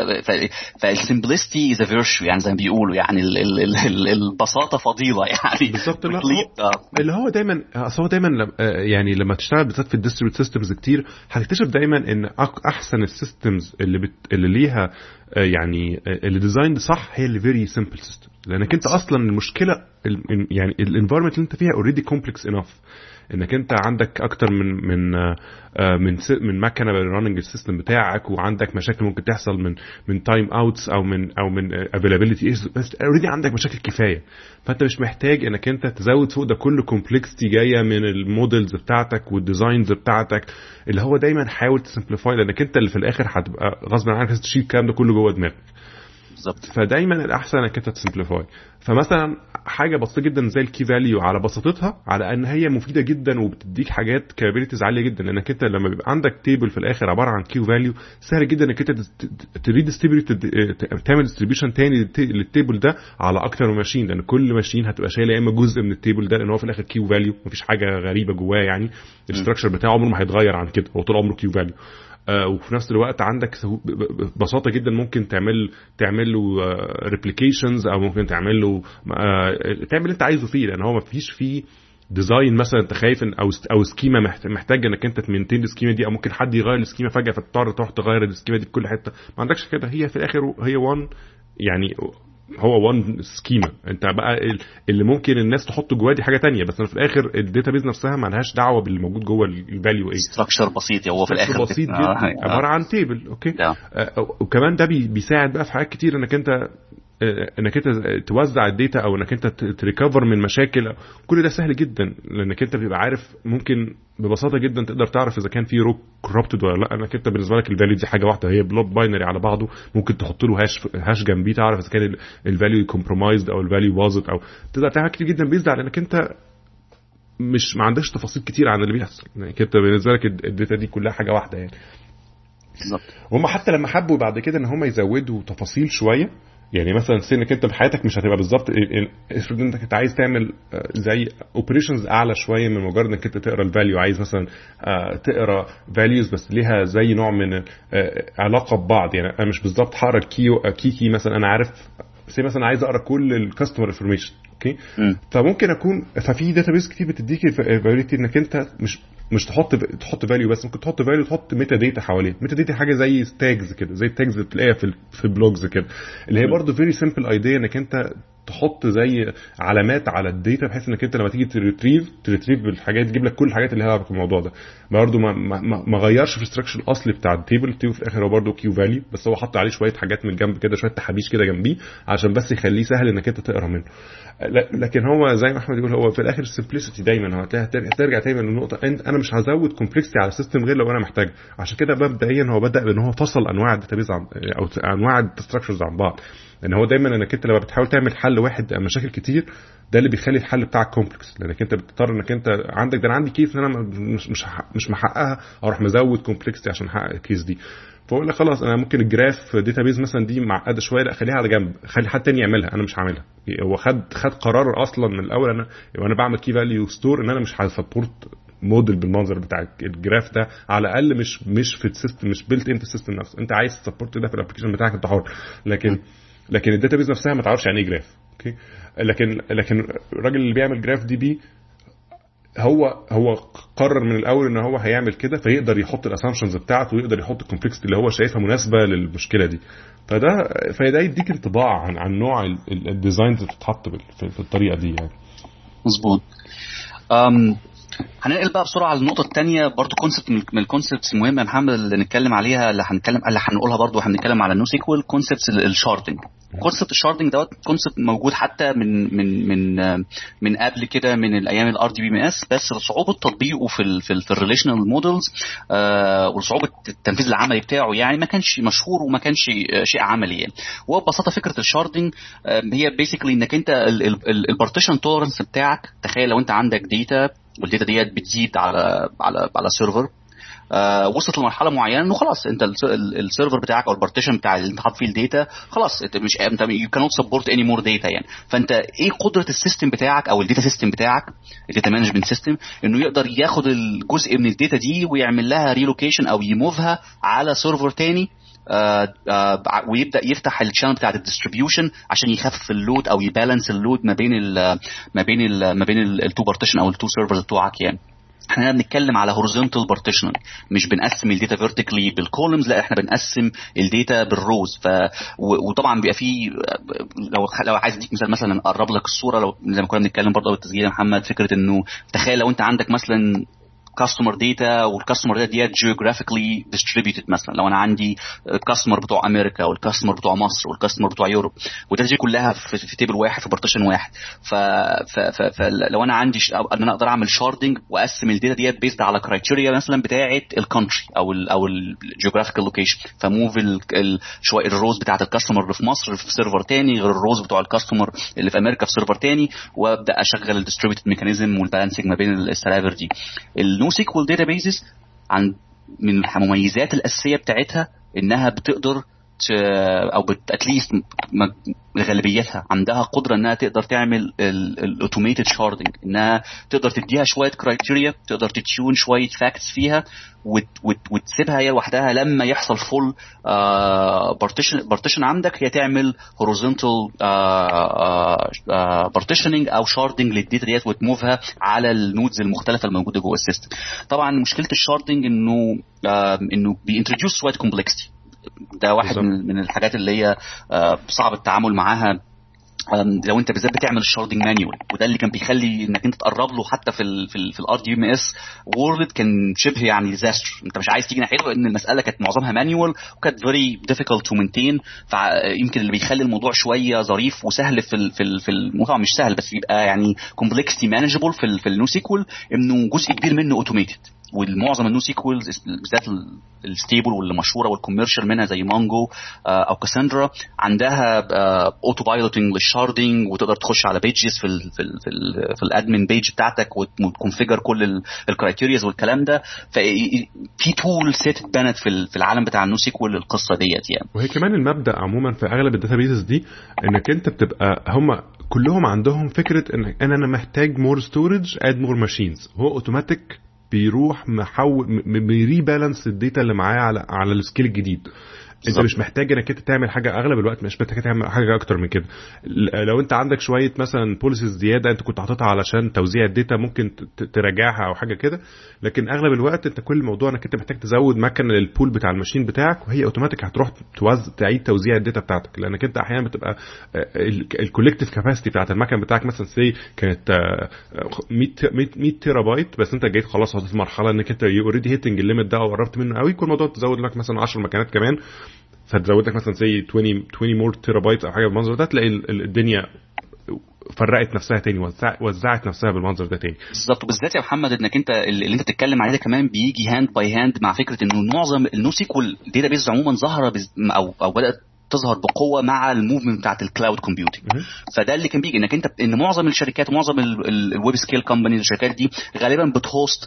فالسمبلستي از ا فيرتشو يعني زي ما بيقولوا يعني ال... ال... ال... البساطه فضيله يعني بالظبط. اللي هو دايما هو دايما يعني لما تشتغل بالذات في الديستريبيوت سيستمز كتير هتكتشف دايما ان احسن السيستمز اللي بت... اللي ليها يعني اللي ديزايند صح هي اللي فيري سيمبل سيستم لانك انت اصلا المشكله يعني الانفايرمنت اللي انت فيها اوريدي كومبلكس انف انك انت عندك اكتر من من من من مكنه راننج السيستم بتاعك وعندك مشاكل ممكن تحصل من من تايم اوتس او من او من افيلابيلتي بس اوريدي عندك مشاكل كفايه. فانت مش محتاج انك انت تزود فوق ده كل كومبلكسيتي جايه من المودلز بتاعتك والديزاينز بتاعتك اللي هو دايما حاول تسمبليفاي لانك انت اللي في الاخر هتبقى غصب عنك تشيل الكلام ده كله جوه دماغك. بالظبط. فدايما الاحسن انك انت تسمبليفاي. فمثلا حاجه بسيطه جدا زي الكي فاليو على بساطتها على ان هي مفيده جدا وبتديك حاجات كابابيلتيز عاليه جدا لانك انت لما بيبقى عندك تيبل في الاخر عباره عن كيو فاليو سهل جدا انك انت تريديستريبيوت تعمل ديستريبيوشن تاني للتيبل ده على اكتر من ماشين لان كل ماشين هتبقى شايله يا اما جزء من التيبل ده لان هو في الاخر كيو فاليو مفيش حاجه غريبه جواه يعني الاستراكشر بتاعه عمره ما هيتغير عن كده هو طول عمره كيو فاليو. آه وفي نفس الوقت عندك ببساطه جدا ممكن تعمل تعمل له ريبليكيشنز او ممكن تعمل له آه تعمل اللي انت عايزه فيه لان هو ما فيش فيه ديزاين مثلا انت خايف او او سكيما محتاج انك انت تمنتين السكيما دي او ممكن حد يغير السكيما فجاه فتضطر تروح تغير السكيما دي في كل حته. ما عندكش كده هي في الاخر هي وان يعني هو وان سكيما انت بقى اللي ممكن الناس تحط جواه دي حاجه تانية بس في الاخر الداتابيز نفسها ما لهاش دعوه باللي موجود جوه الفاليو ايه ستراكشر بسيط هو في الاخر بسيط جدا آه. عباره عن تيبل اوكي آه. وكمان ده بيساعد بقى في حاجات كتير انك انت انك انت توزع الداتا او انك انت تريكفر من مشاكل كل ده سهل جدا لانك انت بتبقى عارف ممكن ببساطه جدا تقدر تعرف اذا كان في رو كوربتد ولا لا. انك انت بالنسبه لك الفاليو دي حاجه واحده هي بلوك باينري على بعضه ممكن تحط له هاش هاش جنبيه تعرف اذا كان الفاليو كومبرومايزد او الفاليو باظت او تقدر تعمل كتير جدا بيزد على انك انت مش ما عندكش تفاصيل كتير عن اللي بيحصل يعني انت بالنسبه لك الداتا دي كلها حاجه واحده يعني بالظبط. وهم حتى لما حبوا بعد كده ان هم يزودوا تفاصيل شويه يعني مثلا سنك انت بحياتك مش هتبقى بالظبط افرض انت كنت عايز تعمل زي اوبريشنز اعلى شويه من مجرد انك انت تقرا الفاليو عايز مثلا تقرا فاليوز بس ليها زي نوع من علاقه ببعض يعني انا مش بالظبط هقرا الكيو كي كي مثلا انا عارف زي مثلا عايز اقرا كل الكاستمر انفورميشن اوكي م. فممكن اكون ففي داتابيس كتير بتديك الفاليديتي انك انت مش مش تحط تحط فاليو بس ممكن تحط فاليو تحط ميتا داتا حواليه. ميتا داتا حاجه زي تاجز كده زي التاجز اللي بتلاقيها في في البلوجز كده اللي هي برضو فيري سيمبل ايديا انك انت تحط زي علامات على الداتا بحيث انك انت لما تيجي تريتريف تريتريف بالحاجات تجيب لك كل الحاجات اللي لها علاقه بالموضوع ده. برضه ما ما, ما غيرش في الاستراكشر الاصلي بتاع التيبل. التيبل في الاخر هو برضه كيو فاليو بس هو حط عليه شويه حاجات من الجنب كده شويه تحابيش كده جنبيه عشان بس يخليه سهل انك انت تقرا منه. لكن هو زي ما احمد يقول هو في الاخر السمبلسيتي دايما هترجع ترجع للنقطه انا مش هزود كومبلكسيتي على السيستم غير لو انا محتاج. عشان كده مبدئيا هو بدا بان هو فصل انواع الداتابيز عن او انواع الستراكشرز عن بعض. لان هو دايما انك انت لما بتحاول تعمل حل واحد مشاكل كتير ده اللي بيخلي الحل بتاعك كومبلكس لانك انت بتضطر انك انت عندك ده انا عندي كيس ان انا مش مش مش محققها اروح مزود كومبلكسيتي عشان احقق الكيس دي. فاقول لك خلاص انا ممكن الجراف داتابيز مثلا دي معقده شويه لا خليها على جنب خلي حد تاني يعملها انا مش هعملها. هو خد خد قرار اصلا من الاول انا وانا بعمل كي فاليو ستور ان انا مش هسبورت موديل بالمنظر بتاع الجراف ده على الاقل مش مش في السيستم مش بيلت ان في السيستم نفسه. انت عايز تسبورت ده في الابلكيشن بتاعك انت حر لكن لكن الداتابيز نفسها ما تعرفش يعني ايه جراف. اوكي لكن لكن الراجل اللي بيعمل جراف دي بي هو هو قرر من الاول ان هو هيعمل كده فيقدر يحط الاسامبشنز بتاعته ويقدر يحط الكومبلكسيتي اللي هو شايفها مناسبه للمشكله دي. فده فده يديك انطباع عن عن نوع الديزاينز اللي بتتحط في الطريقه دي يعني. مظبوط. امم هننقل بقى بسرعه على النقطه الثانيه برضو كونسبت من الكونسبتس المهمه يا محمد اللي نتكلم عليها اللي هنتكلم اللي هنقولها برضو واحنا بنتكلم على النو سيكوال كونسبتس الشاردنج. كونسبت الشاردنج دوت كونسبت موجود حتى من من من من قبل كده من الايام الار دي بي ام اس بس صعوبه تطبيقه في ال في الريليشنال مودلز وصعوبه التنفيذ العملي بتاعه يعني ما كانش مشهور وما كانش شيء عملي يعني. وببساطه فكره الشاردنج هي بيسيكلي انك انت البارتيشن تولرنس بتاعك تخيل لو انت عندك داتا والداتا ديت بتزيد على على على سيرفر آه وصلت لمرحله معينه انه خلاص انت السيرفر بتاعك او البارتيشن بتاع اللي انت حاطط فيه الداتا خلاص انت مش انت يو كانوت سبورت اني مور داتا يعني. فانت ايه قدره السيستم بتاعك او الداتا سيستم بتاعك الداتا مانجمنت سيستم انه يقدر ياخد الجزء من الداتا دي ويعمل لها ريلوكيشن او يموفها على سيرفر تاني آه آه ويبدا يفتح الشانل بتاع الديستريبيوشن عشان يخفف اللود او يبالانس اللود ما بين ال ما بين ال ما بين التو بارتيشن او التو سيرفرز بتوعك يعني. احنا بنتكلم على horizontal partitioning مش بنقسم الداتا vertically بالكولمز لا احنا بنقسم الداتا بالروز. ف وطبعا بيبقى فيه لو لو عايز اديك مثال مثلا اقرب لك الصوره لو زي ما كنا بنتكلم برضه بالتسجيل يا محمد فكره انه تخيل لو انت عندك مثلا customer data والcustomer data ديت geographically distributed مثلا لو انا عندي customer بتوع امريكا والcustomer بتوع مصر والcustomer بتوع يوروب والداتا دي كلها في, في تيبل واحد في بارتيشن واحد. ف فلو انا عندي ش... ان انا اقدر اعمل شاردنج واقسم الداتا ديت بيزد على كرايتيريا مثلا بتاعه الكونتري او ال او الجيوغرافيكال لوكيشن فموف ال... شويه الروز بتاعه الكاستمر اللي في مصر في سيرفر تاني غير الروز بتوع الكاستمر اللي في امريكا في سيرفر تاني وابدا اشغل الديستريبيوتد ميكانيزم والبالانسنج ما بين السيرفر دي. النو سيكوال داتابيزز عن من المميزات الاساسيه بتاعتها انها بتقدر او اتليست غالبيتها عندها قدره انها تقدر تعمل الاوتوميتد شاردنج انها تقدر تديها شويه كرايتيريا تقدر تتيون شويه فاكتس فيها وتسيبها هي لوحدها لما يحصل فول بارتيشن بارتيشن عندك هي تعمل هوريزونتال بارتيشننج او شاردنج للداتا ديت وتموفها على النودز المختلفه الموجوده جوه السيستم. طبعا مشكله الشاردنج انه انه بينتروديوس شويه كومبلكسيتي ده واحد من, من الحاجات اللي هي صعب التعامل معاها لو انت بالذات بتعمل الشاردنج مانيوال وده اللي كان بيخلي انك انت تقرب له حتى في ال في ال في الار دي ام اس وورلد كان شبه يعني ديزاستر. انت مش عايز تيجي ناحيته لان المساله كانت معظمها مانيوال وكانت فيري ديفيكولت تو مينتين. فيمكن اللي بيخلي الموضوع شويه ظريف وسهل في ال في ال في الموضوع مش سهل بس بيبقى يعني كومبلكسيتي مانجبل في ال في النو سيكوال انه جزء كبير منه اوتوميتد والمعظم النو سيكوالز بالذات الستيبل واللي مشهوره والكوميرشال منها زي مانجو او كاساندرا عندها اوتو بايلوتنج للشاردنج وتقدر تخش على بيجز في ال في ال في, ال في الادمن بيج بتاعتك وتكونفيجر كل الكرايتيرياز والكلام ده. ففي تول سيت اتبنت في في العالم بتاع النو سيكوال القصه ديت يعني. وهي كمان المبدا عموما في اغلب الداتابيزز دي انك انت بتبقى هم كلهم عندهم فكره ان انا محتاج مور ستورج اد مور ماشينز هو اوتوماتيك بيروح محول بيريبالانس الداتا اللي معايا على على السكيل الجديد. انت مش محتاج انك انت تعمل حاجه، اغلب الوقت مش محتاج تعمل حاجه اكتر من كده. لو انت عندك شويه مثلا بوليسيز زياده انت كنت حاططها علشان توزيع الداتا ممكن تراجعها او حاجه كده، لكن اغلب الوقت انت كل الموضوع انك انت محتاج تزود مكان للبول بتاع الماشين بتاعك، وهي اوتوماتيك هتروح توزع تعيد توزيع الداتا بتاعتك، لانك انت احيانا بتبقى الكولكتيف كاباسيتي بتاعت المكان بتاعك مثلا سي كانت مية تيرا بايت، بس انت جيت خلاص وصلت مرحله انك انت اوريدي هيتنج الليميت ده وقربت منه قوي، كل موضوع تزود لك مثلا عشر مكانات كمان، فتزود لك مثلا زي عشرين عشرين مور تيرا بايت او حاجه بالمنظر ده، تلاقي الدنيا فرقت نفسها تاني، وزعت نفسها بالمنظر ده تاني. بالظبط. وبالذات يا محمد انك انت اللي انت بتتكلم عليه ده كمان بيجي هاند باي هاند مع فكره انه معظم النو سيكوال داتا بيز عموما ظهر او او بدات تظهر بقوه مع الموفمنت بتاعه الكلاود كومبيوتنج. فده اللي كان بيجي انك انت ان معظم الشركات ومعظم الويب سكيل كومبانيز الشركات دي غالبا بتهوست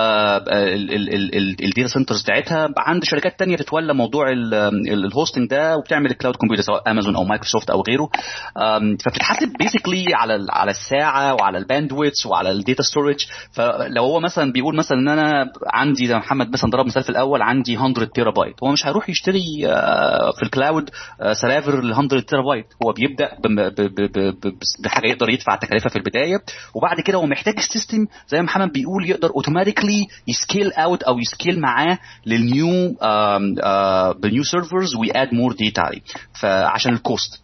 الداتا سنترز بتاعتها عند شركات تانية تتولى موضوع الهوستنج ده وبتعمل الكلاود كومبيوتر سواء امازون او مايكروسوفت او غيره. فبتتحاسب بيسيكلي على على الساعه وعلى الباندويث وعلى الداتا ستورج. فلو هو مثلا بيقول مثلا ان انا عندي زي محمد مثلا ضرب مثال في الاول عندي مية تيرا بايت، هو مش هيروح يشتري في الكلاود سيرفر ل مية تيرا بايت، هو بيبدا بحاجه يقدر يدفع تكلفه في البدايه، وبعد كده هو محتاج السيستم زي ما محمد بيقول يقدر اوتوماتيكلي يسكيل اوت او يسكيل معاه للنيو بالنيو سيرفرز وياد مور داتا عليه فعشان الكوست.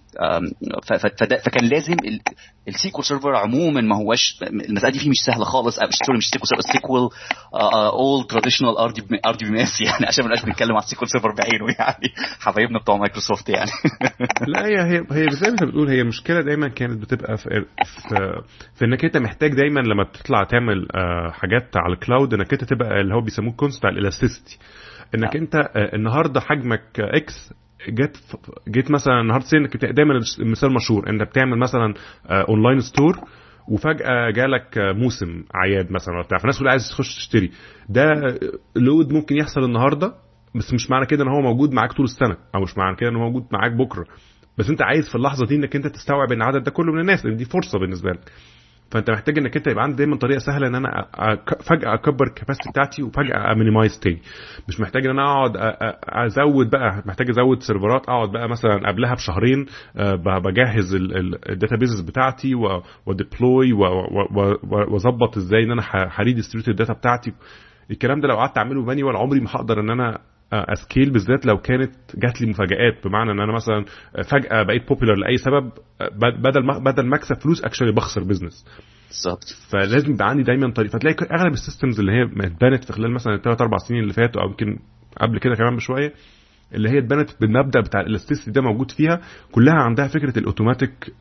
فكان لازم السيكوال سيرفر عموما ما هوش المساله دي فيه مش سهله خالص، سوري مش سيكوال سيرفر، سيكوال اول تراديشنال ار دي ار دي بي اس يعني، عشان ما نبقاش بنتكلم على السيكوال سيرفر بعينه يعني حبايبنا بتوع مايكروسوفت يعني. لا هي هي هي زي ما انت بتقول، هي المشكله دايما كانت بتبقى في في, في انك انت محتاج دايما لما بتطلع تعمل حاجات على الكلاود انك انت تبقى اللي هو بيسموه كونسبت على الالاستيسيتي، انك انت النهارده حجمك اكس جيت جيت مثلا النهارده سينك دايما المثال مشهور انت بتعمل مثلا اونلاين ستور وفجاه جالك موسم عياد مثلا ولا بتاع، فالناس كلها عايزه تخش تشتري، ده لود ممكن يحصل النهارده بس مش معنى كده ان هو موجود معاك طول السنه، او مش معنى كده ان هو موجود معاك بكره، بس انت عايز في اللحظه دي انك انت تستوعب ان العدد ده كله من الناس، لان دي فرصه بالنسبه لك. فانت محتاج انك انت يبقى عندك دايما طريقه سهله ان انا فجاه اكبر الكاباسيتي بتاعتي وفجاه امينيمايز تاني، مش محتاج ان انا اقعد ازود بقى، محتاج ازود سيرفرات اقعد بقى مثلا قبلها بشهرين بجهز الداتابيز بتاعتي وديبلوي واظبط ازاي ان انا هريديستريبيوت الداتا بتاعتي. الكلام ده لو قعدت اعمله مانيوال عمري ما هقدر ان انا اسكيل، بالذات لو كانت جات لي مفاجآت، بمعنى ان انا مثلا فجأة بقيت بوبيلر لاي سبب، بدل بدل ما اكسب فلوس اكشلي بخسر بزنس. بالظبط. فلازم يبقى عندي دايما طريقه، فتلاقي اغلب السيستمز اللي هي اتبنت في خلال مثلا ثلاثة أربعة سنين اللي فاتوا او يمكن قبل كده كمان بشويه، اللي هي اتبنت بالمبدا بتاع الالاستيسيتي ده موجود فيها، كلها عندها فكره الاوتوماتيك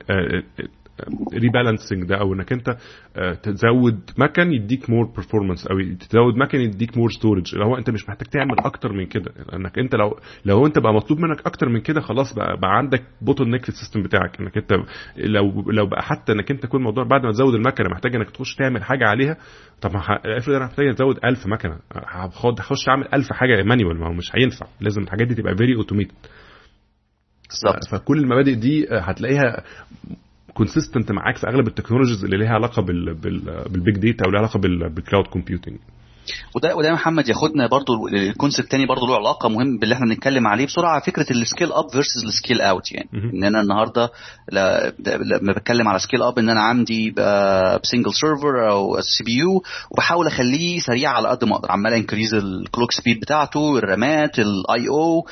ريبالانسنج ده، او انك انت تزود مكان يديك مور بيرفورمانس او تزود مكان يديك مور ستورج، اللي هو انت مش محتاج تعمل اكتر من كده، لانك انت لو لو انت بقى مطلوب منك اكتر من كده خلاص بقى, بقى عندك بوتل نيك في السيستم بتاعك، انك انت لو لو بقى حتى انك انت كل موضوع بعد ما تزود المكنه محتاج انك تخش تعمل حاجه عليها. طب افرض انا محتاج ازود ألف مكنه، هخش اعمل ألف حاجه مانيوال، ما هو مش هينفع، لازم الحاجات دي تبقى فيري اوتوميتد. فكل المبادئ دي هتلاقيها كونسيستنت معاك في اغلب التكنولوجيز اللي ليها علاقه بال بالبيج داتا او ليها علاقه بالكلاود كومبيوتنج. وده وده محمد ياخدنا برضو الكونسبت تاني برضو له علاقه مهم باللي احنا بنتكلم عليه بسرعه، فكره السكيل اب فيرسز السكيل اوت. يعني م- ان انا النهارده لما بتكلم على سكيل اب ان انا عندي سنجل سيرفر او سي بي يو وبحاول اخليه سريع على قد ما اقدر، عمال انكريز الكلوك سبيد بتاعته، الرامات، الاي او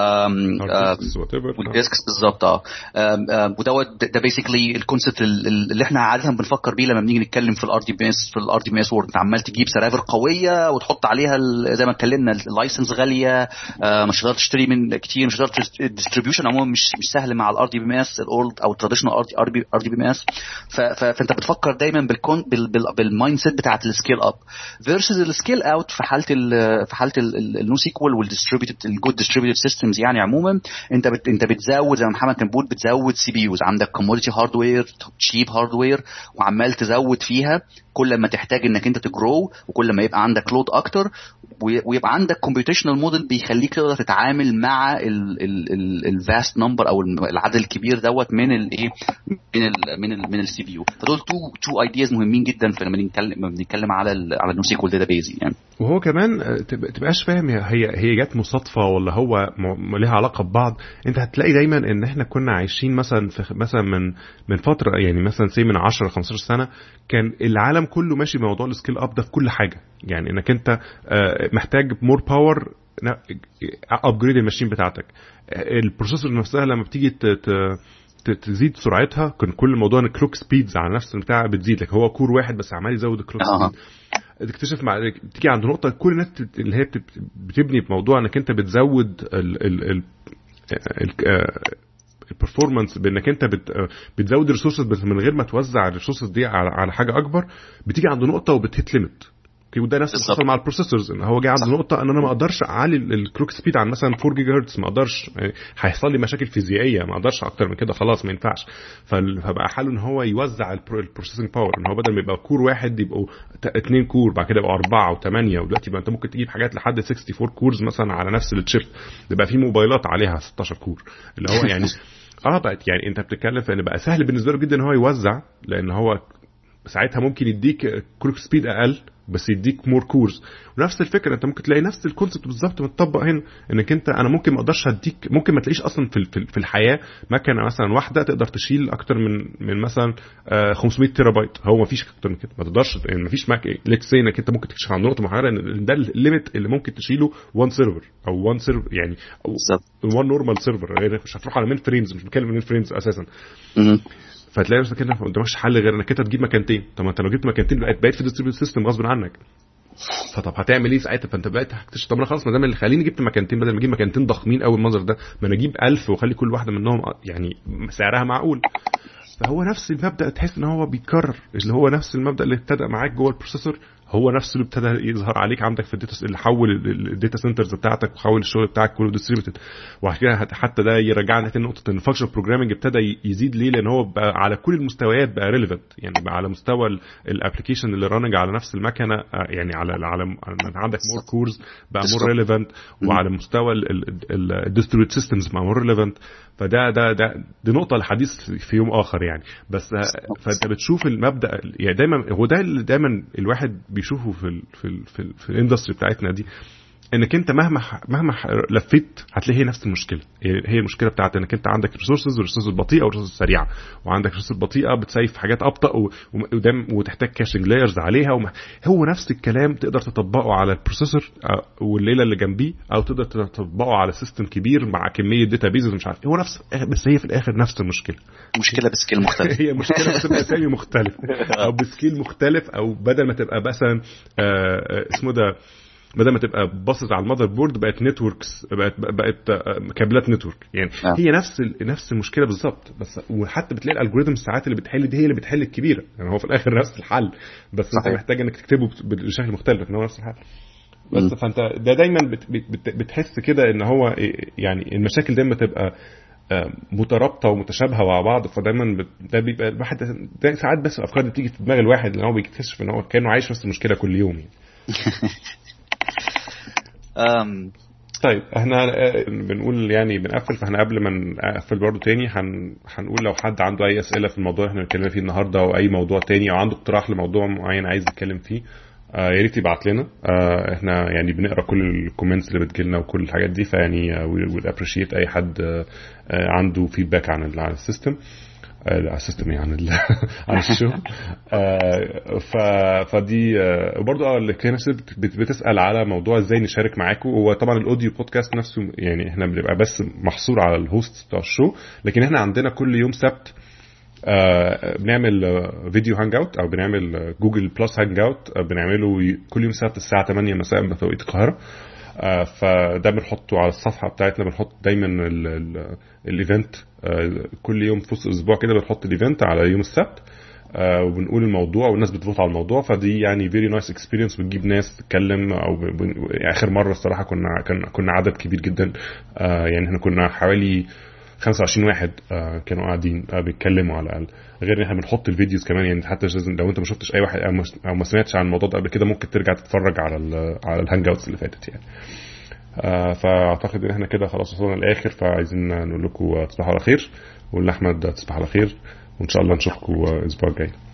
والديسكس بالظبط. اه ودوت ده بيسيكلي الكونسبت اللي احنا عاده بنفكر بيه لما بنيجي نتكلم في الار دي بي اس في الار دي بي اس وورد. عمال تجيب سيرفر قويه وتحط عليها زي ما اتكلمنا اللايسنس غاليه، مش هتقدر تشتري من كتير، مش هتقدر الديستريبيوشن عموما مش مش سهل مع الار دي بي ام اس الاولد او التراديشنال ار دي بي ام اس. فانت بتفكر دايما بالكون بالمايند سيت بتاعه السكيل اب فيرسز السكيل اوت في حاله في حاله النو سيكوال والديستريبيوتد الجود ديستريبيوتد سيستمز. يعني عموما انت بت انت بتزود زي ما محمد كان بيقول، بتزود سي بي يوز، عندك كوموديتي هاردوير تشيب هاردوير وعمال تزود فيها كل ما تحتاج انك انت تجرو وكل ما يبقى عندك لود اكتر. ويبقى عندك كومبيوتيشنال موديل بيخليك تقدر تتعامل مع الفاست نمبر او العدد الكبير دوت من الايه من ال من ال من السي بي يو. فدول تو تو ايدياز مهمين جدا في لما بنتكلم لما بنتكلم على ال على النو سيكوال داتابيز يعني. وهو كمان تبقاش فاهم هي هي جت مصادفه ولا هو ليها علاقه ببعض. انت هتلاقي دايما ان احنا كنا عايشين مثلا في مثلا من من فتره يعني مثلا سي من عشرة خمستاشر سنه كان العالم كله ماشي بموضوع السكيل اب ده في كل حاجه. يعني انك انت محتاج مور باور ابجريد الماشين بتاعتك. البروسيسور نفسها لما بتيجي تزيد سرعتها كان كل موضوع ان كلوك سبيدز على نفس البتاع بتزيد لك. هو كور واحد بس عمال يزود الكلوك سبيد. تكتشف مع تيجي عند نقطه كل الناس اللي هي بتبني بموضوع انك انت بتزود ال ال ال البرفورمانس بانك انت بتزود الريسورسز بس من غير ما توزع الريسورسز دي على على حاجه اكبر. بتيجي عند نقطه وبتهت ليميت. وده نفس اللي حصل مع البروسيسورز ان هو جه عند نقطه ان انا ما اقدرش اعلي الكلوك سبيد عن مثلا أربعة جيجا هرتز. ما اقدرش يعني هيحصل لي مشاكل فيزيائيه. ما اقدرش اكتر من كده خلاص ما ينفعش. فبقى حاله ان هو يوزع البروسيسنج باور ان هو بدل ما يبقى كور واحد يبقوا اثنين كور بعد كده يبقوا أربعة وثمانية. ودلوقتي بقى انت ممكن تجيب حاجات لحد أربعة وستين كورز مثلا على نفس التشيب. يبقى في موبايلات عليها ستاشر كور اللي هو يعني اه بقت يعني انت بتتكلم في ان بقى سهل بالنسبه له جدا ان هو يوزع لان هو ساعتها ممكن يديك كلوك سبيد اقل بس يديك مور كورز. ونفس الفكره انت ممكن تلاقي نفس الكونسبت بالظبط متطبق هنا انك انت انا ممكن ما اقدرش اديك ممكن ما تلاقيش اصلا في في الحياه مكنه مثلا واحده تقدر تشيل اكتر من من مثلا خمسمية تيرا بايت. هو ما فيش اكتر من كده. ما تقدرش يعني ما فيش ماك ليتس سي انك انت ممكن تكتشف عن نقطه معينه ان ده الليميت اللي ممكن تشيله وان سيرفر او وان سيرفر يعني وان نورمال سيرفر. مش هتروح على مين فريمز. مش بتكلم من فريمز اساسا. فتلاقي نفسك كده ما قدامكش حل غير انك انت تجيب مكانتين. طب ما انت لو جبت مكانتين بقيت بقيت في ديستريبيوتد سيستم غصب عنك. فطب هتعمل ايه ساعتها؟ فانت بقيت هتكتشف طب انا خلاص ما دام اللي خليني جبت مكانتين بدل ما اجيب مكانتين ضخمين قوي المنظر ده ما انا اجيب ألف واخلي كل واحده منهم يعني سعرها معقول. فهو نفس المبدا تحس ان هو بيتكرر اللي هو نفس المبدا اللي ابتدى معاك جوه البروسيسور هو نفسه اللي ابتدى يظهر عليك عندك في الداتا اللي حول الداتا سنترز بتاعتك وحول الشغل بتاعك كله ديستريبيوتد. وكده حتى ده يرجعنا تاني نقطه ان الفانكشن بروجرامنج ابتدى يزيد ليه لان هو بقى على كل المستويات بقى ريليفنت. يعني بقى على مستوى الابلكيشن اللي راننج على نفس المكنه يعني على على عندك مور كورز بقى مور ريليفنت. وعلى مستوى الديستريبيوتد سيستمز بقى مور ريليفنت. فده ده ده دي نقطه الحديث في يوم اخر يعني. بس فانت بتشوف المبدا يعني دايما هو ده اللي دايما الواحد بيشوفه في ال في ال في, ال في الاندستري بتاعتنا دي انك انت مهما مهما لفيت هتلاقي هي نفس المشكله. هي المشكله بتاعت انك انت عندك ريسورسز وريسورسز بطيئه وريسورسز سريعه وعندك ريسورسز بطيئه بتسيف حاجات ابطا ودم وتحتاج كاشنج لايرز عليها. هو نفس الكلام تقدر تطبقه على البروسيسور والليله اللي جنبيه او تقدر تطبقه على سيستم كبير مع كميه داتابيز مش عارف هو نفس بس هي في الاخر نفس المشكله. مشكله بسكيل مختلف. هي مشكله بس باسامي مختلف او بسكيل مختلف او بدل ما تبقى مثلا اسمه ده بدل ما تبقى باصص على المذر بورد بقت نتوركس بقت بقت كابلات نتورك يعني آه. هي نفس نفس المشكله بالظبط. بس وحتى بتلاقي الالجوريثم ساعات اللي بتحل دي هي اللي بتحل الكبيره يعني هو في الاخر نفس الحل بس صحيح. انت محتاج انك تكتبه بشكل مختلف لكن هو نفس الحل بس م. فانت ده دايما بت بت بتحس كده ان هو يعني المشاكل دايما تبقى مترابطه ومتشابهه مع بعض. فدايما ده بيبقى الواحد ساعات بس الافكار اللي بتيجي في دماغ الواحد لان هو بيكتشف ان هو كانه عايش نفس المشكله كل يوم يعني. أم طيب احنا بنقول يعني بنقفل. فاحنا قبل ما نقفل برضو تاني هن... هنقول لو حد عنده اي اسئله في الموضوع احنا بنتكلم فيه النهارده او اي موضوع تاني او عنده اقتراح لموضوع معين عايز يتكلم فيه آه يا ريت يبعت لنا. آه احنا يعني بنقرا كل الكومنتس اللي بتجيلنا وكل الحاجات دي فيعني وي ابريشيت اي حد آه عنده فيدباك عن عن السيستم السيستم يعني عن الشغل. ف فدي وبرضه اه اللي كانت بتسال على موضوع ازاي نشارك معاكم. هو طبعا الاوديو بودكاست نفسه يعني احنا بنبقى بس محصور على الهوست بتاع الشو لكن احنا عندنا كل يوم سبت بنعمل فيديو هانج اوت او بنعمل جوجل بلس هانج اوت بنعمله كل يوم سبت الساعه ثمانية مساء بتوقيت القاهره. آه فده بنحطه على الصفحه بتاعتنا. بنحط دايما الايفنت آه كل يوم في وسط الاسبوع كده بنحط الايفنت على يوم السبت آه وبنقول الموضوع والناس بتفوت على الموضوع. فدي يعني فيري نايس اكسبيرينس بتجيب ناس تتكلم او اخر مره الصراحه كنا كنا عدد كبير جدا آه يعني احنا كنا حوالي خمسة وعشرين واحد آه كانوا قاعدين آه بيتكلموا على الاقل، غير ان احنا بنحط الفيديوز كمان يعني. حتى لو انت ما شفتش اي واحد او ما سمعتش عن الموضوع ده قبل كده ممكن ترجع تتفرج على ال على الهانج اوتس اللي فاتت يعني. آه فاعتقد ان احنا كده خلاص وصلنا للاخر، فعايزين نقول لكم تصبحوا على خير، ونقول لاحمد تصبح على خير، وان شاء الله نشوفكم الاسبوع الجاي.